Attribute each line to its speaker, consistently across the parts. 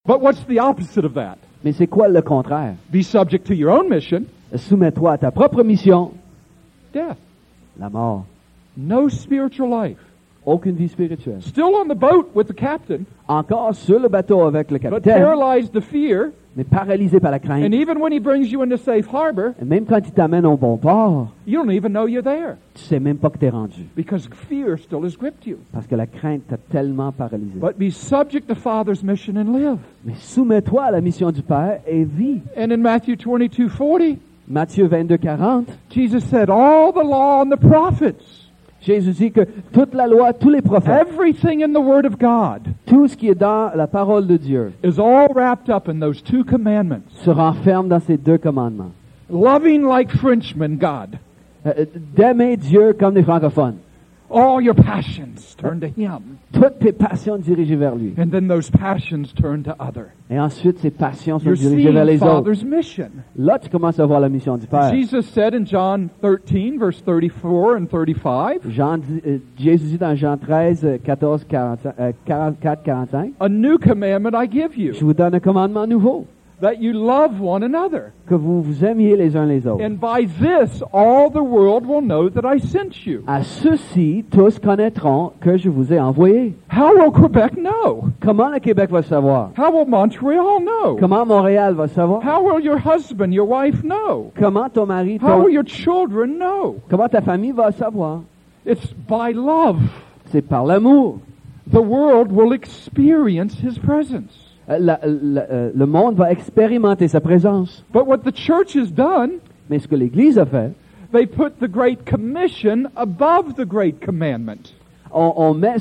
Speaker 1: But what's the opposite of that?
Speaker 2: Mais c'est quoi le contraire?
Speaker 1: Be subject to your own mission,
Speaker 2: Soumets-toi à ta propre mission,
Speaker 1: death.
Speaker 2: la mort.
Speaker 1: No spiritual life.
Speaker 2: Aucune vie spirituelle.
Speaker 1: Still on the boat with the captain,
Speaker 2: Encore sur le bateau avec le
Speaker 1: but
Speaker 2: capitaine,
Speaker 1: paralyzed to fear.
Speaker 2: mais paralysé par la crainte.
Speaker 1: And even when he brings you into safe harbor,
Speaker 2: Et même quand il t'amène au bon port,
Speaker 1: you don't even know you're there
Speaker 2: tu sais même pas que t'es rendu.
Speaker 1: because fear still has gripped you.
Speaker 2: Parce que la crainte t'a tellement paralysé.
Speaker 1: But be subject to Father's mission and live.
Speaker 2: Mais soumets-toi à la mission du Père et vis.
Speaker 1: And in Matthew 22:40,
Speaker 2: Matthieu 22, 40,
Speaker 1: Jesus said, all the law and the prophets,
Speaker 2: Jésus dit que toute la loi, tous les prophètes,
Speaker 1: everything in the Word of God
Speaker 2: tout ce qui est dans la parole de Dieu
Speaker 1: is all wrapped up in those two commandments.
Speaker 2: se renferme dans ces deux commandements.
Speaker 1: Loving like Frenchmen, God.
Speaker 2: D'aimer Dieu comme des francophones.
Speaker 1: All your passions turn to Him.
Speaker 2: Toutes tes passions dirigées vers lui.
Speaker 1: And then those passions turn to other.
Speaker 2: Et ensuite, ces passions sont
Speaker 1: You're
Speaker 2: dirigées vers
Speaker 1: seeing
Speaker 2: les autres.
Speaker 1: Father's mission.
Speaker 2: Là, tu commences à voir la mission du Père.
Speaker 1: Jesus said in John 13, verse 34 and 35,
Speaker 2: Jésus dit dans Jean 13, 14, 44, 45,
Speaker 1: a new commandment I give
Speaker 2: je
Speaker 1: you,
Speaker 2: vous donne un commandement nouveau,
Speaker 1: that you love one another.
Speaker 2: que vous vous aimiez les uns les autres.
Speaker 1: And by this all the world will know that I sent you.
Speaker 2: À ceux-ci, tous connaîtront que je vous ai envoyé.
Speaker 1: How will Quebec know?
Speaker 2: Comment le Québec va savoir?
Speaker 1: How will Montreal know?
Speaker 2: Comment Montréal va savoir?
Speaker 1: How will your husband, your wife know?
Speaker 2: Comment ton mari,
Speaker 1: How will your children know?
Speaker 2: comment ta famille va savoir?
Speaker 1: It's by love.
Speaker 2: C'est par l'amour.
Speaker 1: The world will experience His presence.
Speaker 2: Le monde va expérimenter sa présence.
Speaker 1: But what the church has done,
Speaker 2: Mais ce que l'Église a fait,
Speaker 1: they put the Great Commission above the Great Commandment.
Speaker 2: on met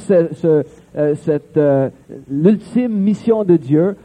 Speaker 2: l'ultime mission de Dieu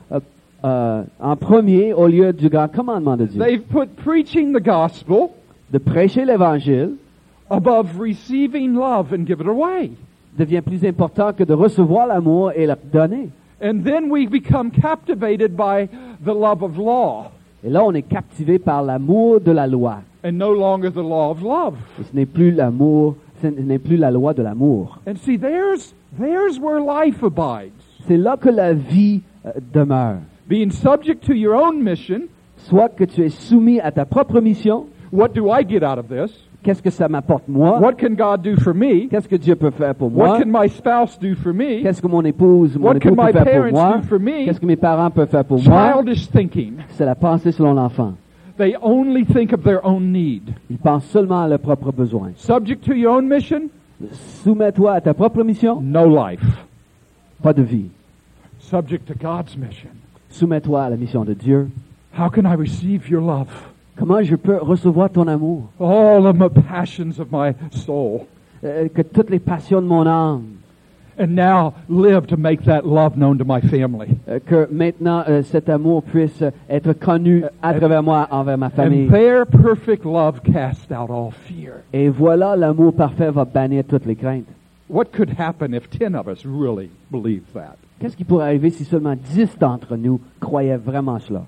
Speaker 2: en premier au lieu du grand commandement de Dieu.
Speaker 1: They've put preaching the gospel
Speaker 2: De prêcher l'Évangile
Speaker 1: above receiving love and give it away.
Speaker 2: devient plus important que de recevoir l'amour et le donner.
Speaker 1: And then we become captivated by the love of law
Speaker 2: Et là, on est captivé par l'amour de la loi.
Speaker 1: and no longer the law of love.
Speaker 2: Et ce n'est plus l'amour, ce n'est plus la loi de l'amour.
Speaker 1: And see, there's where life abides.
Speaker 2: C'est là que la vie demeure.
Speaker 1: Being subject to your own mission.
Speaker 2: Soit que tu es soumis à ta propre mission.
Speaker 1: What do I get out of this?
Speaker 2: Qu'est-ce que ça m'apporte moi?
Speaker 1: What can God do for me?
Speaker 2: Qu'est-ce que Dieu peut faire pour moi?
Speaker 1: What can my spouse do for me?
Speaker 2: Qu'est-ce que mon époux
Speaker 1: What can
Speaker 2: peut
Speaker 1: my
Speaker 2: faire pour
Speaker 1: parents
Speaker 2: moi?
Speaker 1: do for me?
Speaker 2: Qu'est-ce que mes parents peuvent faire pour moi?
Speaker 1: Childish thinking.
Speaker 2: C'est la pensée selon l'enfant.
Speaker 1: They only think of their own need.
Speaker 2: Ils pensent seulement à leurs propres besoins.
Speaker 1: Subject to your own mission,
Speaker 2: Soumets-toi à ta propre mission,
Speaker 1: no life.
Speaker 2: pas de vie.
Speaker 1: Subject to God's mission.
Speaker 2: Soumets-toi à la mission de Dieu.
Speaker 1: How can I receive your love?
Speaker 2: Comment je peux recevoir ton amour?
Speaker 1: All of the passions of my soul.
Speaker 2: Que toutes les passions de mon âme,
Speaker 1: And now live to make that love known to my family.
Speaker 2: que maintenant cet amour puisse être connu à travers moi envers ma famille.
Speaker 1: And their perfect love casts out all fear.
Speaker 2: Et voilà, l'amour parfait va bannir toutes les craintes.
Speaker 1: What could happen if 10 of us really believed that?
Speaker 2: Qu'est-ce qui pourrait arriver si seulement 10 d'entre nous croyaient vraiment cela?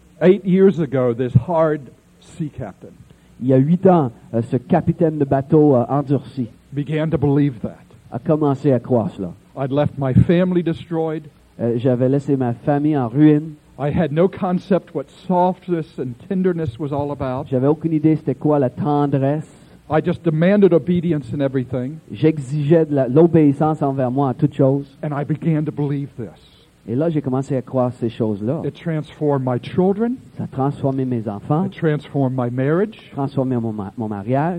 Speaker 1: 8 years ago, this hard sea captain
Speaker 2: Il y a 8 ans, ce capitaine de bateau endurci
Speaker 1: began to believe that.
Speaker 2: a commencé à croire cela.
Speaker 1: I'd left my family destroyed.
Speaker 2: J'avais laissé ma famille en ruine.
Speaker 1: I had no concept what softness and tenderness was all about.
Speaker 2: J'avais aucune idée c'était quoi la tendresse.
Speaker 1: I just demanded obedience in everything,
Speaker 2: J'exigeais de l'obéissance envers moi en toutes choses.
Speaker 1: and I began to believe this.
Speaker 2: Et là, j'ai commencé à croire ces choses-là.
Speaker 1: It transformed my children.
Speaker 2: Ça a transformé mes enfants,
Speaker 1: It transformed my marriage.
Speaker 2: transformé mon mariage.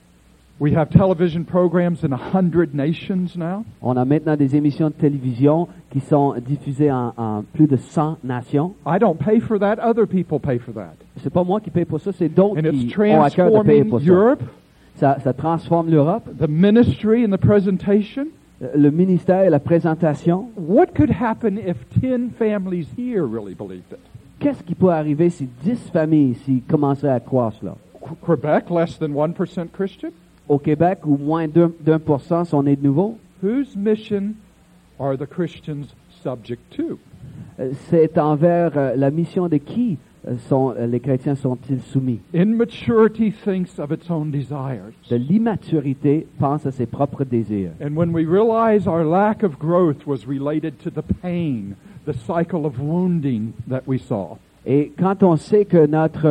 Speaker 1: We have television programs in 100 nations now.
Speaker 2: On a maintenant des émissions de télévision qui sont diffusées en plus de 100 nations.
Speaker 1: I don't pay for that. Other people pay for that.
Speaker 2: C'est pas moi qui paye pour ça, c'est d'autres
Speaker 1: And it's
Speaker 2: qui ont à cœur de payer
Speaker 1: transforming
Speaker 2: pour ça.
Speaker 1: Europe,
Speaker 2: Ça transforme l'Europe,
Speaker 1: the ministry and the presentation.
Speaker 2: le ministère et la présentation.
Speaker 1: What could happen if 10 families here really believed it?
Speaker 2: Qu'est-ce qui peut arriver si 10 familles ici commençaient à croire cela?
Speaker 1: Quebec, less than 1% Christian?
Speaker 2: Au Québec, où moins d'1% sont nés de nouveau,
Speaker 1: Whose mission are the Christians subject to?
Speaker 2: c'est envers la mission de qui les chrétiens sont-ils soumis?
Speaker 1: Immaturity thinks of its own desires.
Speaker 2: De l'immaturité pense à ses propres désirs.
Speaker 1: And when we realize our lack of growth was related to the pain the cycle of wounding that we saw.
Speaker 2: Et quand on sait que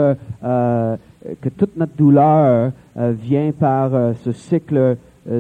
Speaker 2: que toute notre douleur vient par ce cycle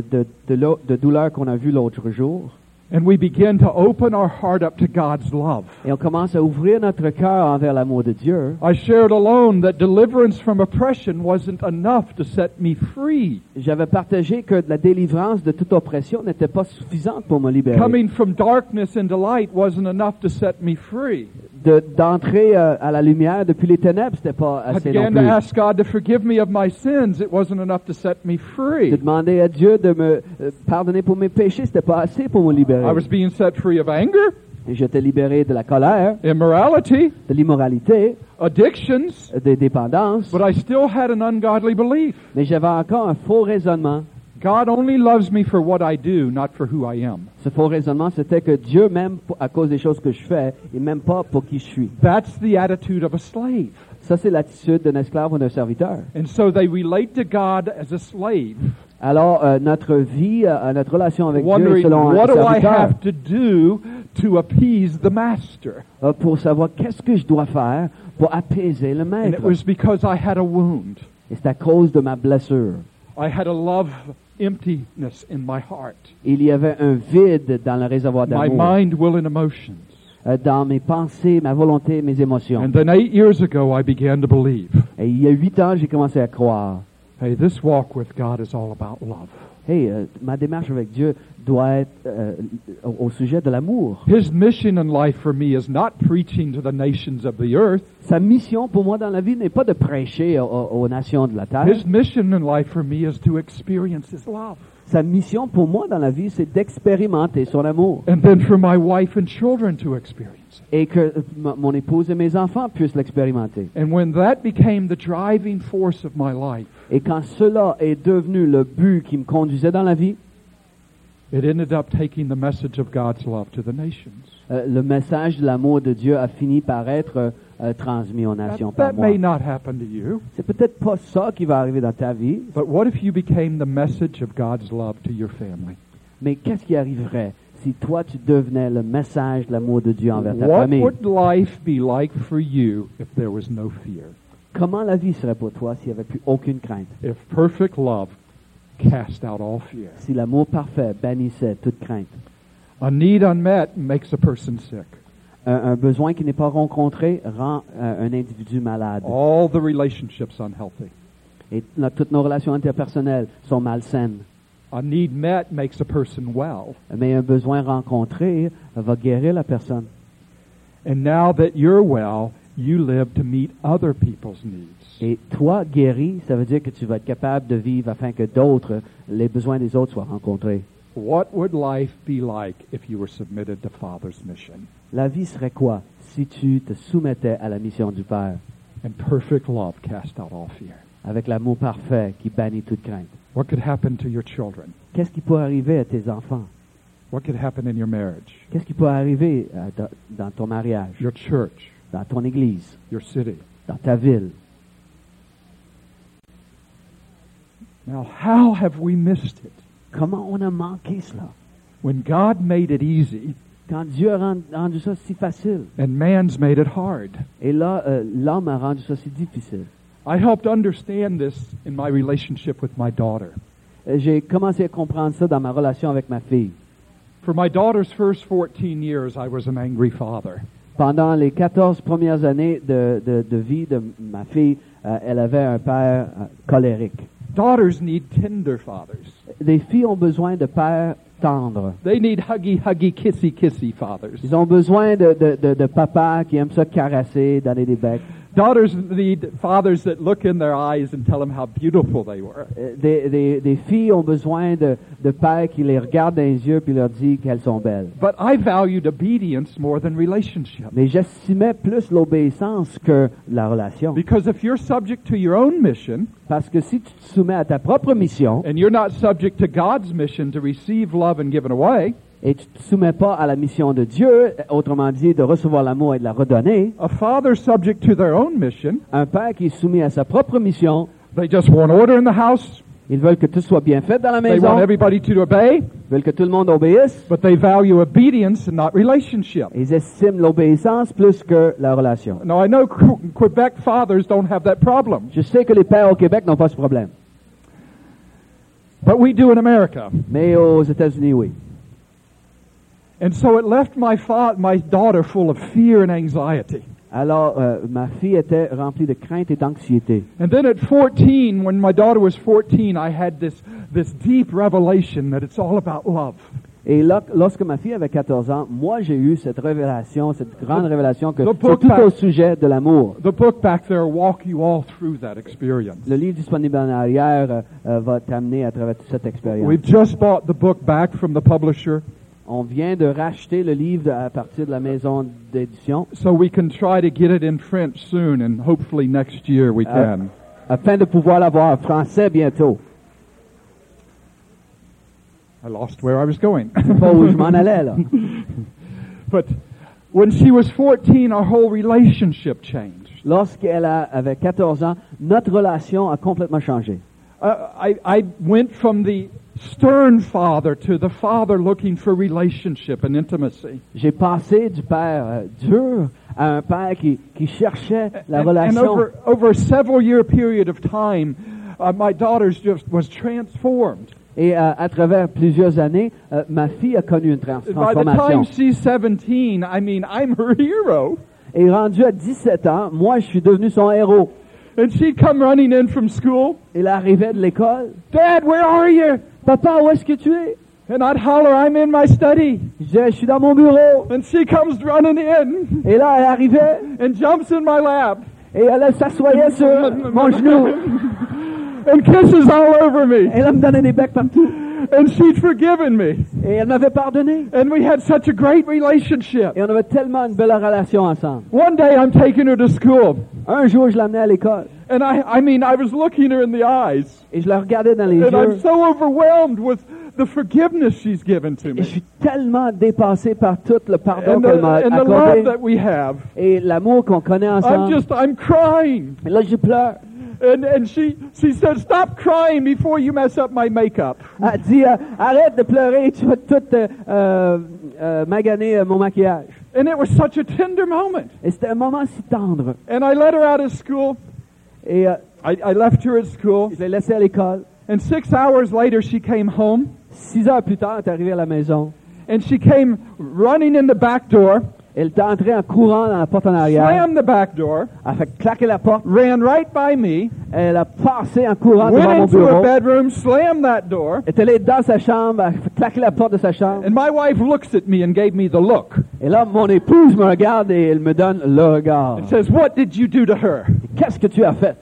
Speaker 2: de douleur qu'on a vu l'autre jour,
Speaker 1: And we begin to open our heart up to God's love.
Speaker 2: et on commence à ouvrir notre cœur envers l'amour de Dieu,
Speaker 1: I shared alone that deliverance from oppression wasn't enough to set me free.
Speaker 2: j'avais partagé que la délivrance de toute oppression n'était pas suffisante pour me libérer.
Speaker 1: Coming from darkness into light wasn't enough to set me free.
Speaker 2: D'entrer à la lumière depuis les ténèbres, c'était pas
Speaker 1: I
Speaker 2: assez non
Speaker 1: began to
Speaker 2: plus.
Speaker 1: ask God to forgive me of my sins. It wasn't enough to set me
Speaker 2: De
Speaker 1: free.
Speaker 2: demander à Dieu de me pardonner pour mes péchés, c'était pas assez pour me libérer.
Speaker 1: I was being set free of anger,
Speaker 2: Et j'étais libéré de la colère,
Speaker 1: immorality,
Speaker 2: de l'immoralité,
Speaker 1: addictions,
Speaker 2: des dépendances,
Speaker 1: but I still had an ungodly belief.
Speaker 2: mais j'avais encore un faux raisonnement.
Speaker 1: God only loves me for what I do, not for who I am.
Speaker 2: Ce faux raisonnement, c'était que Dieu m'aime à cause des choses que je fais et même pas pour qui je suis.
Speaker 1: That's the attitude of a slave.
Speaker 2: Ça, c'est l'attitude d'un esclave ou d'un serviteur.
Speaker 1: And so they relate to God as a slave,
Speaker 2: Alors, notre vie, notre relation avec Dieu est
Speaker 1: wondering,
Speaker 2: selon un
Speaker 1: what do I
Speaker 2: serviteur.
Speaker 1: have to do to appease the master?
Speaker 2: Pour savoir qu'est-ce que je dois faire pour apaiser le
Speaker 1: And
Speaker 2: maître.
Speaker 1: it was because I had a wound.
Speaker 2: Et c'est à cause de ma blessure.
Speaker 1: I had a love emptiness in my heart,
Speaker 2: Il y avait un vide dans le réservoir
Speaker 1: my
Speaker 2: d'amour,
Speaker 1: mind, will, and emotions.
Speaker 2: dans mes pensées, ma volonté, mes émotions.
Speaker 1: And then 8 years ago, I began to believe,
Speaker 2: Et il y a 8 ans, j'ai commencé à croire.
Speaker 1: hey, this walk with God is all about love.
Speaker 2: Hey, ma démarche avec Dieu doit être au sujet de l'amour.
Speaker 1: His mission in life for me is not preaching to the nations of the earth.
Speaker 2: Sa mission pour moi dans la vie n'est pas de prêcher aux nations de la terre.
Speaker 1: His mission in life for me is to experience His love.
Speaker 2: Sa mission pour moi dans la vie, c'est d'expérimenter son amour.
Speaker 1: And then for my wife and children to experience it.
Speaker 2: Et que mon épouse et mes enfants puissent l'expérimenter.
Speaker 1: And when that became the driving force of my life,
Speaker 2: Et quand cela est devenu le but qui me conduisait dans la vie,
Speaker 1: it ended up taking the message of God's love to the nations.
Speaker 2: le message de l'amour de Dieu a fini par être transmis aux nations par
Speaker 1: That
Speaker 2: moi.
Speaker 1: may not happen to you,
Speaker 2: C'est peut-être pas ça qui va arriver dans ta vie,
Speaker 1: but what if you became the message of God's love to your family?
Speaker 2: mais qu'est-ce qui arriverait si toi tu devenais le message de l'amour de Dieu envers ta
Speaker 1: What
Speaker 2: famille?
Speaker 1: would life be like for you if there was no fear?
Speaker 2: Comment la vie serait pour toi s'il n'y avait plus aucune crainte?
Speaker 1: If perfect love cast out all fear?
Speaker 2: Si l'amour parfait bannissait toute crainte?
Speaker 1: A need unmet makes a person sick.
Speaker 2: Un besoin qui n'est pas rencontré rend un individu malade.
Speaker 1: All the relationships unhealthy.
Speaker 2: Et toutes nos relations interpersonnelles sont malsaines.
Speaker 1: A need met makes a person well.
Speaker 2: Mais un besoin rencontré va guérir la personne.
Speaker 1: And now that you're well, you live to meet other people's needs.
Speaker 2: Et toi, guéri, ça veut dire que tu vas être capable de vivre afin que d'autres, les besoins des autres soient rencontrés.
Speaker 1: What would life be like if you were submitted to Father's mission?
Speaker 2: La vie serait quoi si tu te soumettais à la mission du Père,
Speaker 1: And perfect love cast out all fear.
Speaker 2: avec l'amour parfait qui bannit toute crainte?
Speaker 1: What could happen to your children?
Speaker 2: Qu'est-ce qui peut arriver à tes enfants?
Speaker 1: What could happen in your marriage,
Speaker 2: Qu'est-ce qui peut arriver dans ton mariage,
Speaker 1: your church,
Speaker 2: dans ton église,
Speaker 1: your city?
Speaker 2: dans ta ville?
Speaker 1: Now, how have we missed it?
Speaker 2: Comment on a manqué cela?
Speaker 1: When God made it easy
Speaker 2: Quand Dieu a rendu ça si facile,
Speaker 1: and man's made it hard.
Speaker 2: et là, l'homme a rendu ça si difficile.
Speaker 1: I helped understand this in my relationship with my daughter.
Speaker 2: J'ai commencé à comprendre ça dans ma relation avec ma fille.
Speaker 1: For my daughter's first 14 years, I was an angry father.
Speaker 2: Pendant les 14 premières années de vie de ma fille, elle avait un père colérique.
Speaker 1: Daughters need tender fathers.
Speaker 2: Les filles ont besoin de pères tendres.
Speaker 1: They need huggy, huggy, kissy, kissy fathers.
Speaker 2: Ils ont besoin de papas qui aiment ça caresser, donner des becs.
Speaker 1: Daughters need fathers that look in their eyes and tell them how beautiful they were.
Speaker 2: Des filles ont besoin de pères qui les regardent dans les yeux puis leur disent qu'elles sont belles.
Speaker 1: But I valued obedience more than relationship.
Speaker 2: Mais j'estimais plus l'obéissance que la relation.
Speaker 1: Because if you're subject to your own mission,
Speaker 2: Parce que si tu te soumets à ta propre mission
Speaker 1: and you're not subject to God's mission to receive love and give it away,
Speaker 2: et tu te soumets pas à la mission de Dieu, autrement dit de recevoir l'amour et de la redonner,
Speaker 1: a father subject to their own mission,
Speaker 2: un père qui est soumis à sa propre mission,
Speaker 1: they just want order in the house,
Speaker 2: Ils veulent que tout soit bien fait dans la
Speaker 1: They
Speaker 2: maison.
Speaker 1: want everybody to obey,
Speaker 2: Ils veulent que tout le monde obéisse.
Speaker 1: but they value obedience and not relationship.
Speaker 2: Ils estiment l'obéissance plus que la relation.
Speaker 1: Now, I know Quebec fathers don't have that problem,
Speaker 2: Je sais que les pères au Québec n'ont pas ce problème.
Speaker 1: but we do in America.
Speaker 2: Mais aux États-Unis, oui.
Speaker 1: And so it left my daughter full of fear and anxiety.
Speaker 2: Alors, ma fille était remplie de crainte et d'anxiété.
Speaker 1: And then at 14, when my daughter was 14, I had this deep revelation that it's all about love.
Speaker 2: Et là, lorsque ma fille avait 14 ans, moi, j'ai eu cette révélation, cette grande révélation que
Speaker 1: the
Speaker 2: c'est
Speaker 1: book
Speaker 2: tout
Speaker 1: back-
Speaker 2: au sujet de l'amour.
Speaker 1: The book back there walk you all through that experience.
Speaker 2: Le livre disponible en arrière va t'amener à travers toute cette expérience.
Speaker 1: We've just bought the book back from the publisher
Speaker 2: On vient de racheter le livre à partir de la maison d'édition
Speaker 1: so we can try to get it in French soon, and hopefully next year we can.
Speaker 2: afin de pouvoir l'avoir en français bientôt.
Speaker 1: I lost where I was going.
Speaker 2: C'est pas où je m'en allais, là.
Speaker 1: But when she was 14, our whole relationship changed.
Speaker 2: Lorsqu'elle avait 14 ans, notre relation a complètement changé.
Speaker 1: I went from the stern father to the father looking for relationship and intimacy.
Speaker 2: J'ai passé du père dur à un père qui cherchait la
Speaker 1: And
Speaker 2: relation.
Speaker 1: over a several year period of time, my daughter's just was transformed.
Speaker 2: Et à travers plusieurs années, ma fille a connu une
Speaker 1: By the
Speaker 2: transformation.
Speaker 1: time she's 17, I mean, I'm her hero.
Speaker 2: Et rendue à 17 ans, moi, je suis devenu son héros.
Speaker 1: And she'd come running in from school.
Speaker 2: Elle arrivait de l'école.
Speaker 1: Dad, where are you?
Speaker 2: Papa, où est-ce que tu es?
Speaker 1: And I'd holler, I'm in my study.
Speaker 2: Je disais, je suis dans mon bureau.
Speaker 1: And she comes running in
Speaker 2: Et là, elle arrivait
Speaker 1: and jumps in my lap
Speaker 2: et elle s'assoyait sur mon genou.
Speaker 1: and kisses all over me.
Speaker 2: Et elle me donnait des becs partout.
Speaker 1: And she'd forgiven me.
Speaker 2: Et elle m'avait pardonné.
Speaker 1: And we had such a great relationship.
Speaker 2: Et on avait tellement une belle relation ensemble.
Speaker 1: One day I'm taking her to school.
Speaker 2: Un jour, je l'amenais à l'école.
Speaker 1: And I was looking her in the eyes.
Speaker 2: Et je la regardais dans les
Speaker 1: And I'm
Speaker 2: yeux.
Speaker 1: so overwhelmed with the forgiveness she's given to
Speaker 2: Et je
Speaker 1: me.
Speaker 2: suis tellement dépassé par tout le pardon
Speaker 1: And
Speaker 2: qu'elle m'a
Speaker 1: the love
Speaker 2: accordé.
Speaker 1: that we have.
Speaker 2: Et l'amour qu'on connaît ensemble.
Speaker 1: I'm crying.
Speaker 2: Et là, je pleure.
Speaker 1: And she said, stop crying before you mess up my makeup.
Speaker 2: Elle dit, arrête de pleurer, tu vas tout maganer mon maquillage.
Speaker 1: And it was such a tender moment.
Speaker 2: Et c'était un moment si tendre.
Speaker 1: And I let her out of school.
Speaker 2: Et
Speaker 1: I left her at school.
Speaker 2: je l'ai laissée à l'école.
Speaker 1: And 6 hours later, she came home.
Speaker 2: 6 heures plus tard, elle est arrivée à la maison.
Speaker 1: And she came running in the back door,
Speaker 2: Elle est entrée en courant dans la porte en arrière.
Speaker 1: slammed the back door,
Speaker 2: Elle a fait claquer la porte.
Speaker 1: ran right by me,
Speaker 2: Elle a passé en courant
Speaker 1: went
Speaker 2: devant mon
Speaker 1: into her
Speaker 2: bureau.
Speaker 1: bedroom, slammed that door.
Speaker 2: Elle est allée dans sa chambre. Elle a fait claquer la porte de sa chambre.
Speaker 1: And my wife looks at me and gave me the look.
Speaker 2: Et là, mon épouse me regarde et elle me donne le regard.
Speaker 1: And says, what did you do to her?
Speaker 2: Qu'est-ce que tu as fait?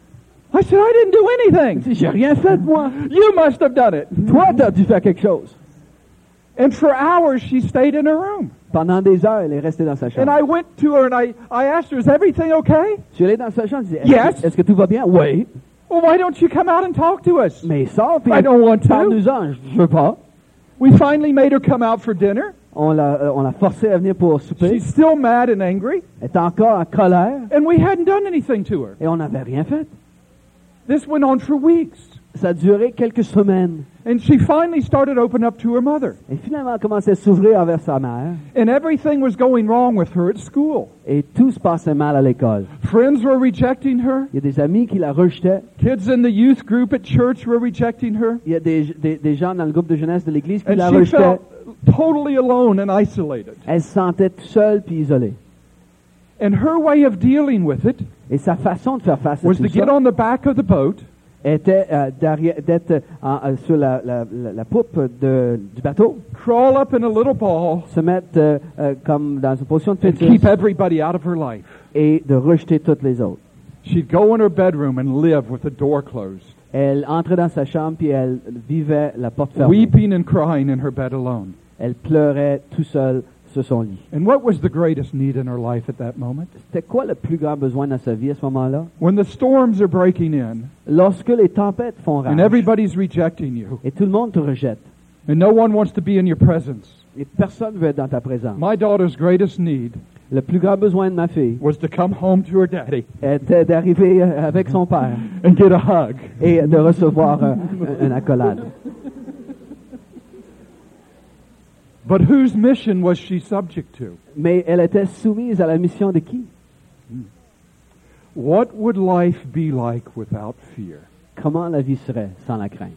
Speaker 1: I said, I didn't do
Speaker 2: Elle
Speaker 1: anything.
Speaker 2: dit, j'ai rien fait, moi.
Speaker 1: You must have done it.
Speaker 2: Toi, t'as dû faire quelque chose.
Speaker 1: And for hours, she stayed in her room.
Speaker 2: Pendant des heures, elle est restée dans sa
Speaker 1: And
Speaker 2: chambre.
Speaker 1: I went to her and I asked her, is everything okay?
Speaker 2: Je suis allé dans sa chambre. Je dis,
Speaker 1: Yes.
Speaker 2: est-ce que tout va bien? Oui.
Speaker 1: Well, why don't you come out and talk to us?
Speaker 2: Mais sors, puis
Speaker 1: I don't want to.
Speaker 2: parle-nous-en. Je veux pas.
Speaker 1: We finally made her come out for dinner.
Speaker 2: On l'a forcée à venir pour souper.
Speaker 1: She's still mad and angry.
Speaker 2: Elle est encore en colère.
Speaker 1: And we hadn't done anything to her.
Speaker 2: Et on n'avait rien fait.
Speaker 1: This went on for weeks.
Speaker 2: Ça a duré quelques semaines.
Speaker 1: And she finally started opening up to her mother.
Speaker 2: Et finalement, elle a commencé à s'ouvrir envers sa mère.
Speaker 1: And everything was going wrong with her at school.
Speaker 2: Et tout se passait mal à l'école.
Speaker 1: Friends were rejecting her.
Speaker 2: Il y a des amis qui la rejetaient.
Speaker 1: Kids in the youth group at church were rejecting her.
Speaker 2: Il y a des gens dans le groupe de jeunesse de l'église qui
Speaker 1: And
Speaker 2: la
Speaker 1: she
Speaker 2: rejetaient.
Speaker 1: felt totally alone and isolated.
Speaker 2: Elle se sentait toute seule puis isolée.
Speaker 1: And her way of dealing with it
Speaker 2: Et sa façon de faire face à
Speaker 1: was
Speaker 2: tout
Speaker 1: to get
Speaker 2: ça
Speaker 1: on the back of the boat
Speaker 2: était d'être sur la poupe du bateau,
Speaker 1: crawl up in a little ball,
Speaker 2: se mettre comme dans une position de
Speaker 1: and
Speaker 2: fœtus
Speaker 1: keep everybody out of her life.
Speaker 2: et de rejeter toutes les autres.
Speaker 1: She'd go in her bedroom and live with the door closed,
Speaker 2: Elle entrait dans sa chambre puis elle vivait la porte fermée.
Speaker 1: weeping and crying in her bed alone.
Speaker 2: Elle pleurait tout seule sur son lit.
Speaker 1: And what was the greatest need in her life at that moment?
Speaker 2: C'était quoi le plus grand besoin dans sa vie à ce moment-là?
Speaker 1: When the storms are breaking in
Speaker 2: Lorsque les tempêtes font rage
Speaker 1: and everybody's rejecting you
Speaker 2: et tout le monde te rejette
Speaker 1: and no one wants to be in your presence.
Speaker 2: et personne ne veut être dans ta présence.
Speaker 1: My daughter's greatest need
Speaker 2: Le plus grand besoin de ma fille
Speaker 1: was to come home to her daddy
Speaker 2: était d'arriver avec son père
Speaker 1: and get a hug.
Speaker 2: et de recevoir une accolade.
Speaker 1: But whose mission was she subject to?
Speaker 2: Mais elle était soumise à la mission de qui?
Speaker 1: What would life be like without fear?
Speaker 2: Comment la vie serait sans la crainte?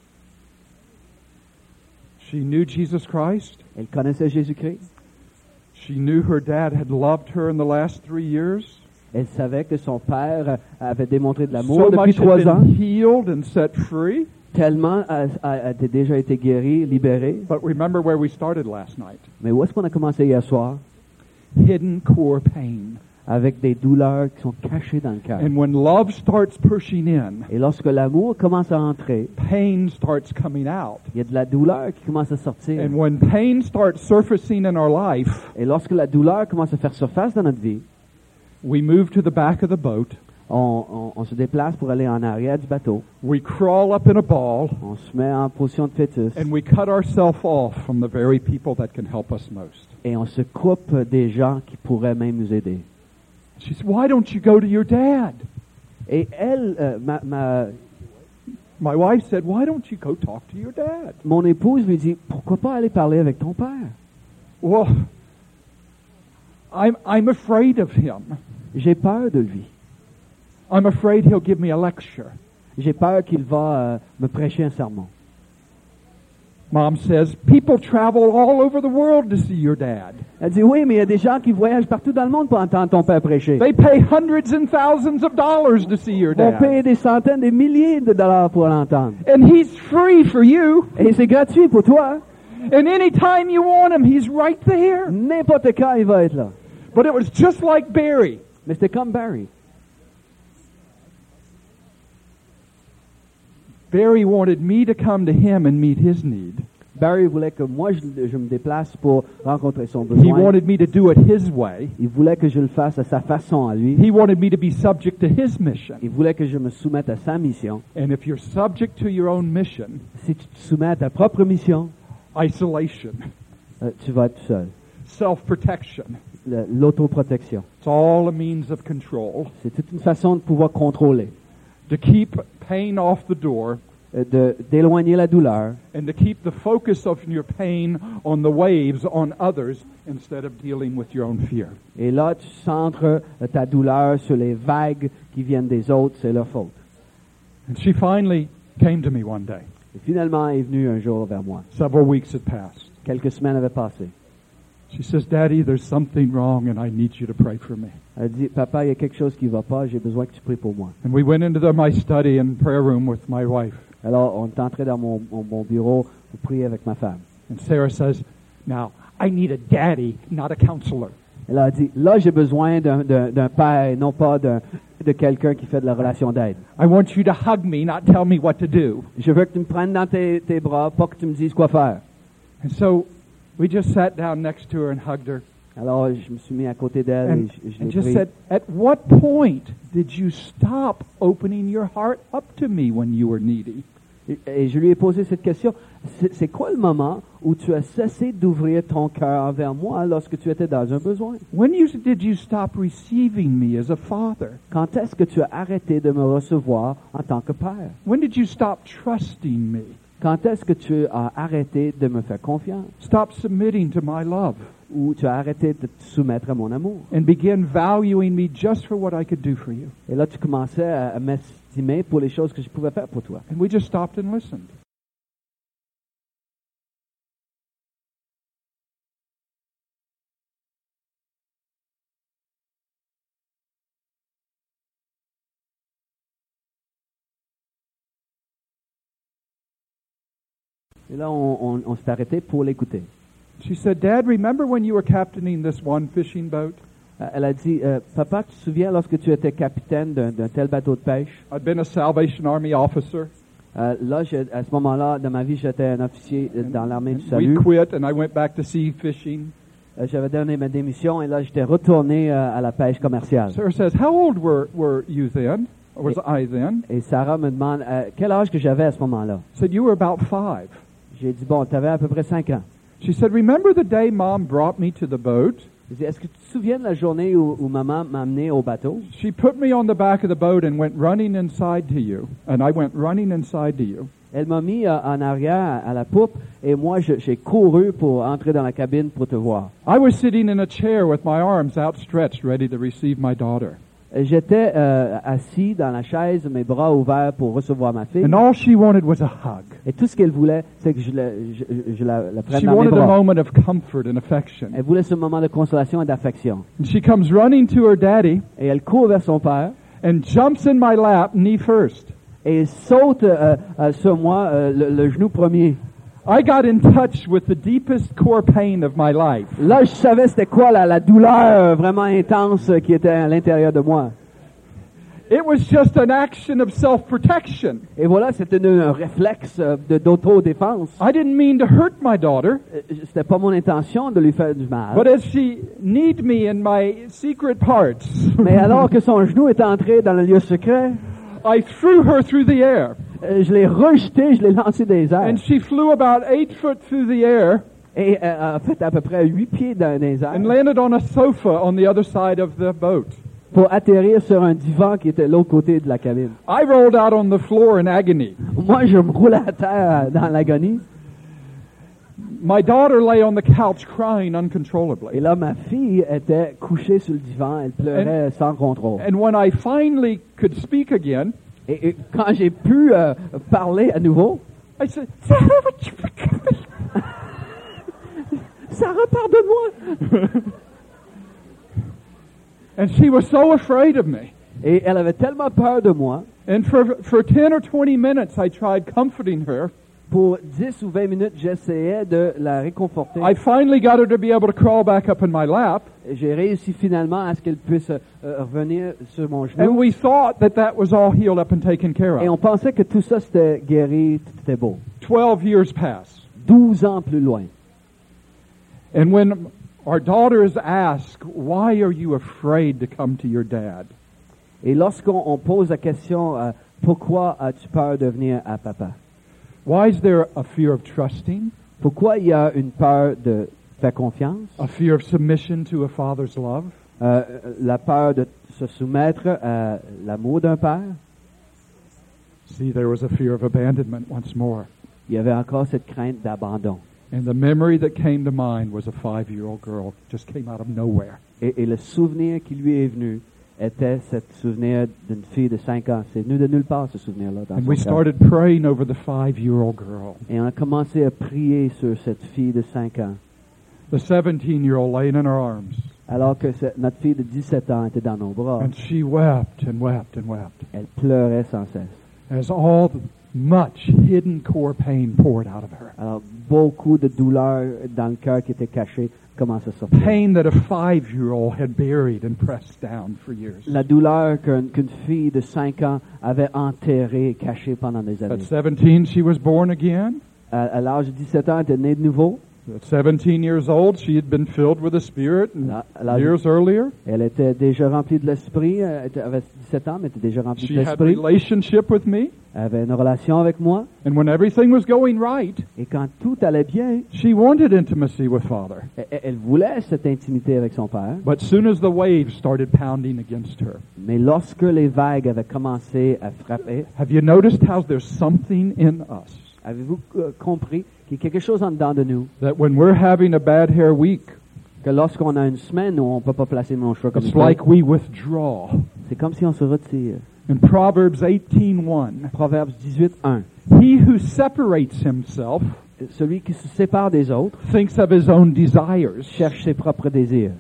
Speaker 1: She knew Jesus Christ.
Speaker 2: Elle connaissait Jésus-Christ.
Speaker 1: She knew her dad had loved her in the last 3 years.
Speaker 2: Elle savait que son père avait démontré de l'amour
Speaker 1: So
Speaker 2: depuis
Speaker 1: much
Speaker 2: 3
Speaker 1: had
Speaker 2: ans.
Speaker 1: been healed and set free.
Speaker 2: Tellement a déjà été guéri, libéré.
Speaker 1: But remember where we started last night.
Speaker 2: Mais où est-ce qu'on a commencé hier soir?
Speaker 1: Hidden core pain.
Speaker 2: Avec des douleurs qui sont cachées dans le cœur.
Speaker 1: And when love starts pushing in,
Speaker 2: Et lorsque l'amour commence à entrer,
Speaker 1: pain starts coming out.
Speaker 2: il y a de la douleur qui commence à sortir.
Speaker 1: And when pain starts surfacing in our life,
Speaker 2: Et lorsque la douleur commence à faire surface dans notre vie,
Speaker 1: we move to the back of the boat.
Speaker 2: on se déplace pour aller en arrière du bateau.
Speaker 1: We crawl up in a ball.
Speaker 2: On se met en position de fœtus.
Speaker 1: And we cut ourselves off from the very people that can help us most.
Speaker 2: Et on se coupe des gens qui pourraient même nous aider.
Speaker 1: She said, why don't you go to your dad?
Speaker 2: Et elle,
Speaker 1: My wife said, why don't you go talk to your dad?
Speaker 2: mon épouse lui dit, pourquoi pas aller parler avec ton père?
Speaker 1: Well, I'm afraid of him.
Speaker 2: J'ai peur de lui.
Speaker 1: I'm afraid he'll give me a lecture.
Speaker 2: J'ai peur qu'il va me prêcher un sermon.
Speaker 1: Mom says, people travel all over the world to see your dad.
Speaker 2: Elle dit, oui, mais il y a des gens qui voyagent partout dans le monde pour entendre ton père prêcher.
Speaker 1: They pay hundreds and thousands of dollars to see your
Speaker 2: Ils vont
Speaker 1: dad.
Speaker 2: payer des centaines, des milliers de dollars pour l'entendre.
Speaker 1: And he's free for you.
Speaker 2: Et c'est gratuit pour toi.
Speaker 1: And anytime you want him, he's right there.
Speaker 2: N'importe quand, il va être là.
Speaker 1: But it was just like Barry.
Speaker 2: Mais c'était comme Barry.
Speaker 1: Barry wanted me to come to him and meet his need.
Speaker 2: Barry voulait que moi, je me déplace pour rencontrer son
Speaker 1: He
Speaker 2: besoin.
Speaker 1: wanted me to do it his way.
Speaker 2: Il voulait que je le fasse à sa façon à lui.
Speaker 1: He wanted me to be subject to his mission.
Speaker 2: Il voulait que je me soumette à sa mission.
Speaker 1: And if you're subject to your own mission,
Speaker 2: Si tu te soumets à ta propre mission,
Speaker 1: isolation,
Speaker 2: tu vas être tout seul.
Speaker 1: self-protection,
Speaker 2: L'autoprotection.
Speaker 1: it's all a means of control.
Speaker 2: C'est toute une façon de pouvoir contrôler,
Speaker 1: To keep pain off the door
Speaker 2: d'éloigner la douleur
Speaker 1: and to keep the focus of your pain on the waves, on others, instead of dealing with your own fear.
Speaker 2: Et là, tu centres ta douleur sur les vagues qui viennent des autres, c'est leur faute.
Speaker 1: And she finally came to me one day.
Speaker 2: Et finalement, elle est venue un jour vers moi.
Speaker 1: Several weeks had passed.
Speaker 2: Quelques semaines avaient passé.
Speaker 1: She says, Daddy, there's something wrong and I need you to pray for me.
Speaker 2: Elle dit, papa, il y a quelque chose qui ne va pas, j'ai besoin que tu pries pour moi.
Speaker 1: And we went into my study and prayer room with my wife.
Speaker 2: Alors, on est entré dans mon bureau pour prier avec ma femme.
Speaker 1: And Sarah says, now, I need a daddy, not a counselor.
Speaker 2: Elle a dit, là, j'ai besoin d'un père, non pas de quelqu'un qui fait de la relation d'aide.
Speaker 1: I want you to hug me, not tell me what to do.
Speaker 2: Je veux que tu me prennes dans tes bras, pas que tu me dises quoi faire.
Speaker 1: And so we just sat down next to her and hugged her
Speaker 2: Alors, je me suis mis à côté d'elle
Speaker 1: and,
Speaker 2: et je
Speaker 1: and
Speaker 2: l'ai
Speaker 1: just
Speaker 2: pris.
Speaker 1: said, at what point did you stop opening your heart up to me when you were needy?
Speaker 2: Et je lui ai posé cette question. C'est quoi le moment où tu as cessé d'ouvrir ton cœur envers moi lorsque tu étais dans un besoin?
Speaker 1: Did you stop receiving me as a father?
Speaker 2: Quand est-ce que tu as arrêté de me recevoir en tant que père?
Speaker 1: When did you stop trusting me?
Speaker 2: Quand est-ce que tu as arrêté de me faire confiance?
Speaker 1: Stop submitting to my love
Speaker 2: Ou tu as arrêté de te soumettre à mon amour?
Speaker 1: and begin valuing me just for what I could do for you?
Speaker 2: Et là, tu commençais à m'estimer pour les choses que je pouvais faire pour toi.
Speaker 1: And we just stopped and listened.
Speaker 2: Et là, on s'est arrêté pour l'écouter.
Speaker 1: She said, Dad, remember when you were captaining this one fishing boat?
Speaker 2: Elle a dit, papa, tu te souviens lorsque tu étais capitaine d'un tel bateau de pêche?
Speaker 1: I'd been a Salvation Army officer.
Speaker 2: Là, à ce moment-là, dans ma vie, j'étais un officier dans l'armée du
Speaker 1: We
Speaker 2: salut.
Speaker 1: quit and I went back to sea fishing.
Speaker 2: J'avais donné ma démission et là, j'étais retourné à la pêche commerciale.
Speaker 1: Sarah says, how old were you then? Or was I then?
Speaker 2: Et Sarah me demande quel âge que j'avais à ce moment-là.
Speaker 1: I said, you were about 5.
Speaker 2: J'ai dit, bon, tu avais à peu près 5 ans.
Speaker 1: She said, remember the day Mom brought me to the boat?
Speaker 2: Il dit, est-ce que tu te souviens de la journée où maman m'a amené au bateau?
Speaker 1: She put me on the back of the boat and went running inside to you. And I went running inside to you.
Speaker 2: Elle m'a mis en arrière à la poupe et moi j'ai couru pour entrer dans la cabine pour te voir.
Speaker 1: I was sitting in a chair with my arms outstretched, ready to receive my daughter.
Speaker 2: J'étais assis dans la chaise, mes bras ouverts pour recevoir ma fille.
Speaker 1: And all she wanted was a hug.
Speaker 2: Et tout ce qu'elle voulait, c'est que je la prenne
Speaker 1: She
Speaker 2: dans mes
Speaker 1: wanted a
Speaker 2: bras.
Speaker 1: moment of comfort and affection.
Speaker 2: Elle voulait ce moment de consolation et d'affection.
Speaker 1: And she comes running to her daddy
Speaker 2: Et elle court vers son père
Speaker 1: and jumps in my lap, knee first.
Speaker 2: et saute sur moi, le genou premier.
Speaker 1: I got in touch with the deepest core pain of my life.
Speaker 2: Là, je savais c'était quoi la douleur vraiment intense qui était à l'intérieur de moi.
Speaker 1: It was just an action of self-protection.
Speaker 2: Et voilà, c'était un réflexe d'autodéfense.
Speaker 1: I didn't mean to hurt my daughter,
Speaker 2: C'était pas mon intention de lui faire du mal.
Speaker 1: but as she kneed me in my secret parts,
Speaker 2: Mais alors que son genou est entré dans le lieu secret,
Speaker 1: I threw her through the air,
Speaker 2: je l'ai rejeté, je l'ai lancé des airs.
Speaker 1: and she flew about 8 foot through the air
Speaker 2: Et en fait, à peu près 8 pieds dans les airs
Speaker 1: and landed on a sofa on the other side of the boat.
Speaker 2: pour atterrir sur un divan qui était de l'autre côté de la cabine.
Speaker 1: I rolled out on the floor in agony.
Speaker 2: Moi, je me roulais à terre dans l'agonie.
Speaker 1: My daughter lay on the couch crying
Speaker 2: Et
Speaker 1: uncontrollably.
Speaker 2: là, ma fille était couchée sur le divan, elle pleurait sans contrôle.
Speaker 1: And when I finally could speak again,
Speaker 2: Et quand j'ai pu parler à nouveau,
Speaker 1: I said, Sarah, would you forgive me?
Speaker 2: Sarah, pardonne-moi!
Speaker 1: And she was so afraid of me.
Speaker 2: Et elle avait tellement peur de moi.
Speaker 1: And for 10 or 20 minutes, I tried comforting her.
Speaker 2: Pour 10 ou 20 minutes, j'essayais de la réconforter.
Speaker 1: I finally got her to be able to crawl back up in my lap.
Speaker 2: J'ai réussi finalement à ce qu'elle puisse revenir sur mon
Speaker 1: And
Speaker 2: genou.
Speaker 1: we thought that was all healed up and taken care
Speaker 2: Et
Speaker 1: of.
Speaker 2: on pensait que tout ça c'était guéri, tout était beau.
Speaker 1: 12 years pass.
Speaker 2: 12 ans plus loin.
Speaker 1: And when our daughters ask, why are you afraid to come to your dad?
Speaker 2: Et lorsqu'on pose la question, pourquoi as-tu peur de venir à papa?
Speaker 1: Why is there a fear of trusting?
Speaker 2: Pourquoi il y a une peur de faire confiance?
Speaker 1: A fear of submission to a father's love?
Speaker 2: La peur de se soumettre à l'amour d'un père?
Speaker 1: See, there was a fear of abandonment once more.
Speaker 2: Il y avait encore cette crainte d'abandon.
Speaker 1: And the memory that came to mind was a 5-year-old girl just came out of nowhere.
Speaker 2: Et le souvenir qui lui est venu était ce souvenir d'une fille de 5 ans. C'est venu de nulle part, ce souvenir-là. Dans
Speaker 1: And
Speaker 2: son
Speaker 1: we
Speaker 2: cœur.
Speaker 1: started praying over the 5-year-old girl.
Speaker 2: Et on a commencé à prier sur cette fille de 5 ans.
Speaker 1: The 17-year-old laying in her arms.
Speaker 2: Alors que notre fille de 17 ans était dans nos bras.
Speaker 1: And she wept and wept and wept
Speaker 2: Elle pleurait sans cesse.
Speaker 1: as all the much hidden core pain poured out of her.
Speaker 2: Alors, beaucoup de douleur dans le cœur qui était caché commence à sortir.
Speaker 1: Pain that a 5-year-old had buried and pressed down for years.
Speaker 2: La douleur qu'une fille de 5 ans avait enterrée et cachée pendant des
Speaker 1: At
Speaker 2: années.
Speaker 1: 17, she was born again.
Speaker 2: À l'âge de 17 ans, elle était née de nouveau.
Speaker 1: At 17 years old, she had been filled with the Spirit years earlier.
Speaker 2: Elle était déjà remplie de l'esprit. Elle avait 17 ans, mais était déjà remplie
Speaker 1: She
Speaker 2: de
Speaker 1: had
Speaker 2: l'esprit.
Speaker 1: relationship with me.
Speaker 2: Elle avait une relation avec moi.
Speaker 1: And when everything was going right,
Speaker 2: Et quand tout allait bien,
Speaker 1: she wanted intimacy with Father.
Speaker 2: elle voulait cette intimité avec son père.
Speaker 1: But soon as the waves started pounding against her,
Speaker 2: Mais lorsque les vagues avaient commencé à frapper,
Speaker 1: have you noticed how there's something in us
Speaker 2: avez-vous compris qu'il y a quelque chose en dedans de nous?
Speaker 1: that when we're having a bad hair week,
Speaker 2: Que lorsqu'on a une semaine où on ne peut pas placer nos cheveux comme
Speaker 1: it's
Speaker 2: il faut,
Speaker 1: like we withdraw.
Speaker 2: c'est comme si on se retire.
Speaker 1: In Proverbs 18:1,
Speaker 2: Proverbes 18:1.
Speaker 1: he who separates himself
Speaker 2: Celui qui se sépare des autres
Speaker 1: thinks of his own desires.
Speaker 2: cherche ses propres désirs.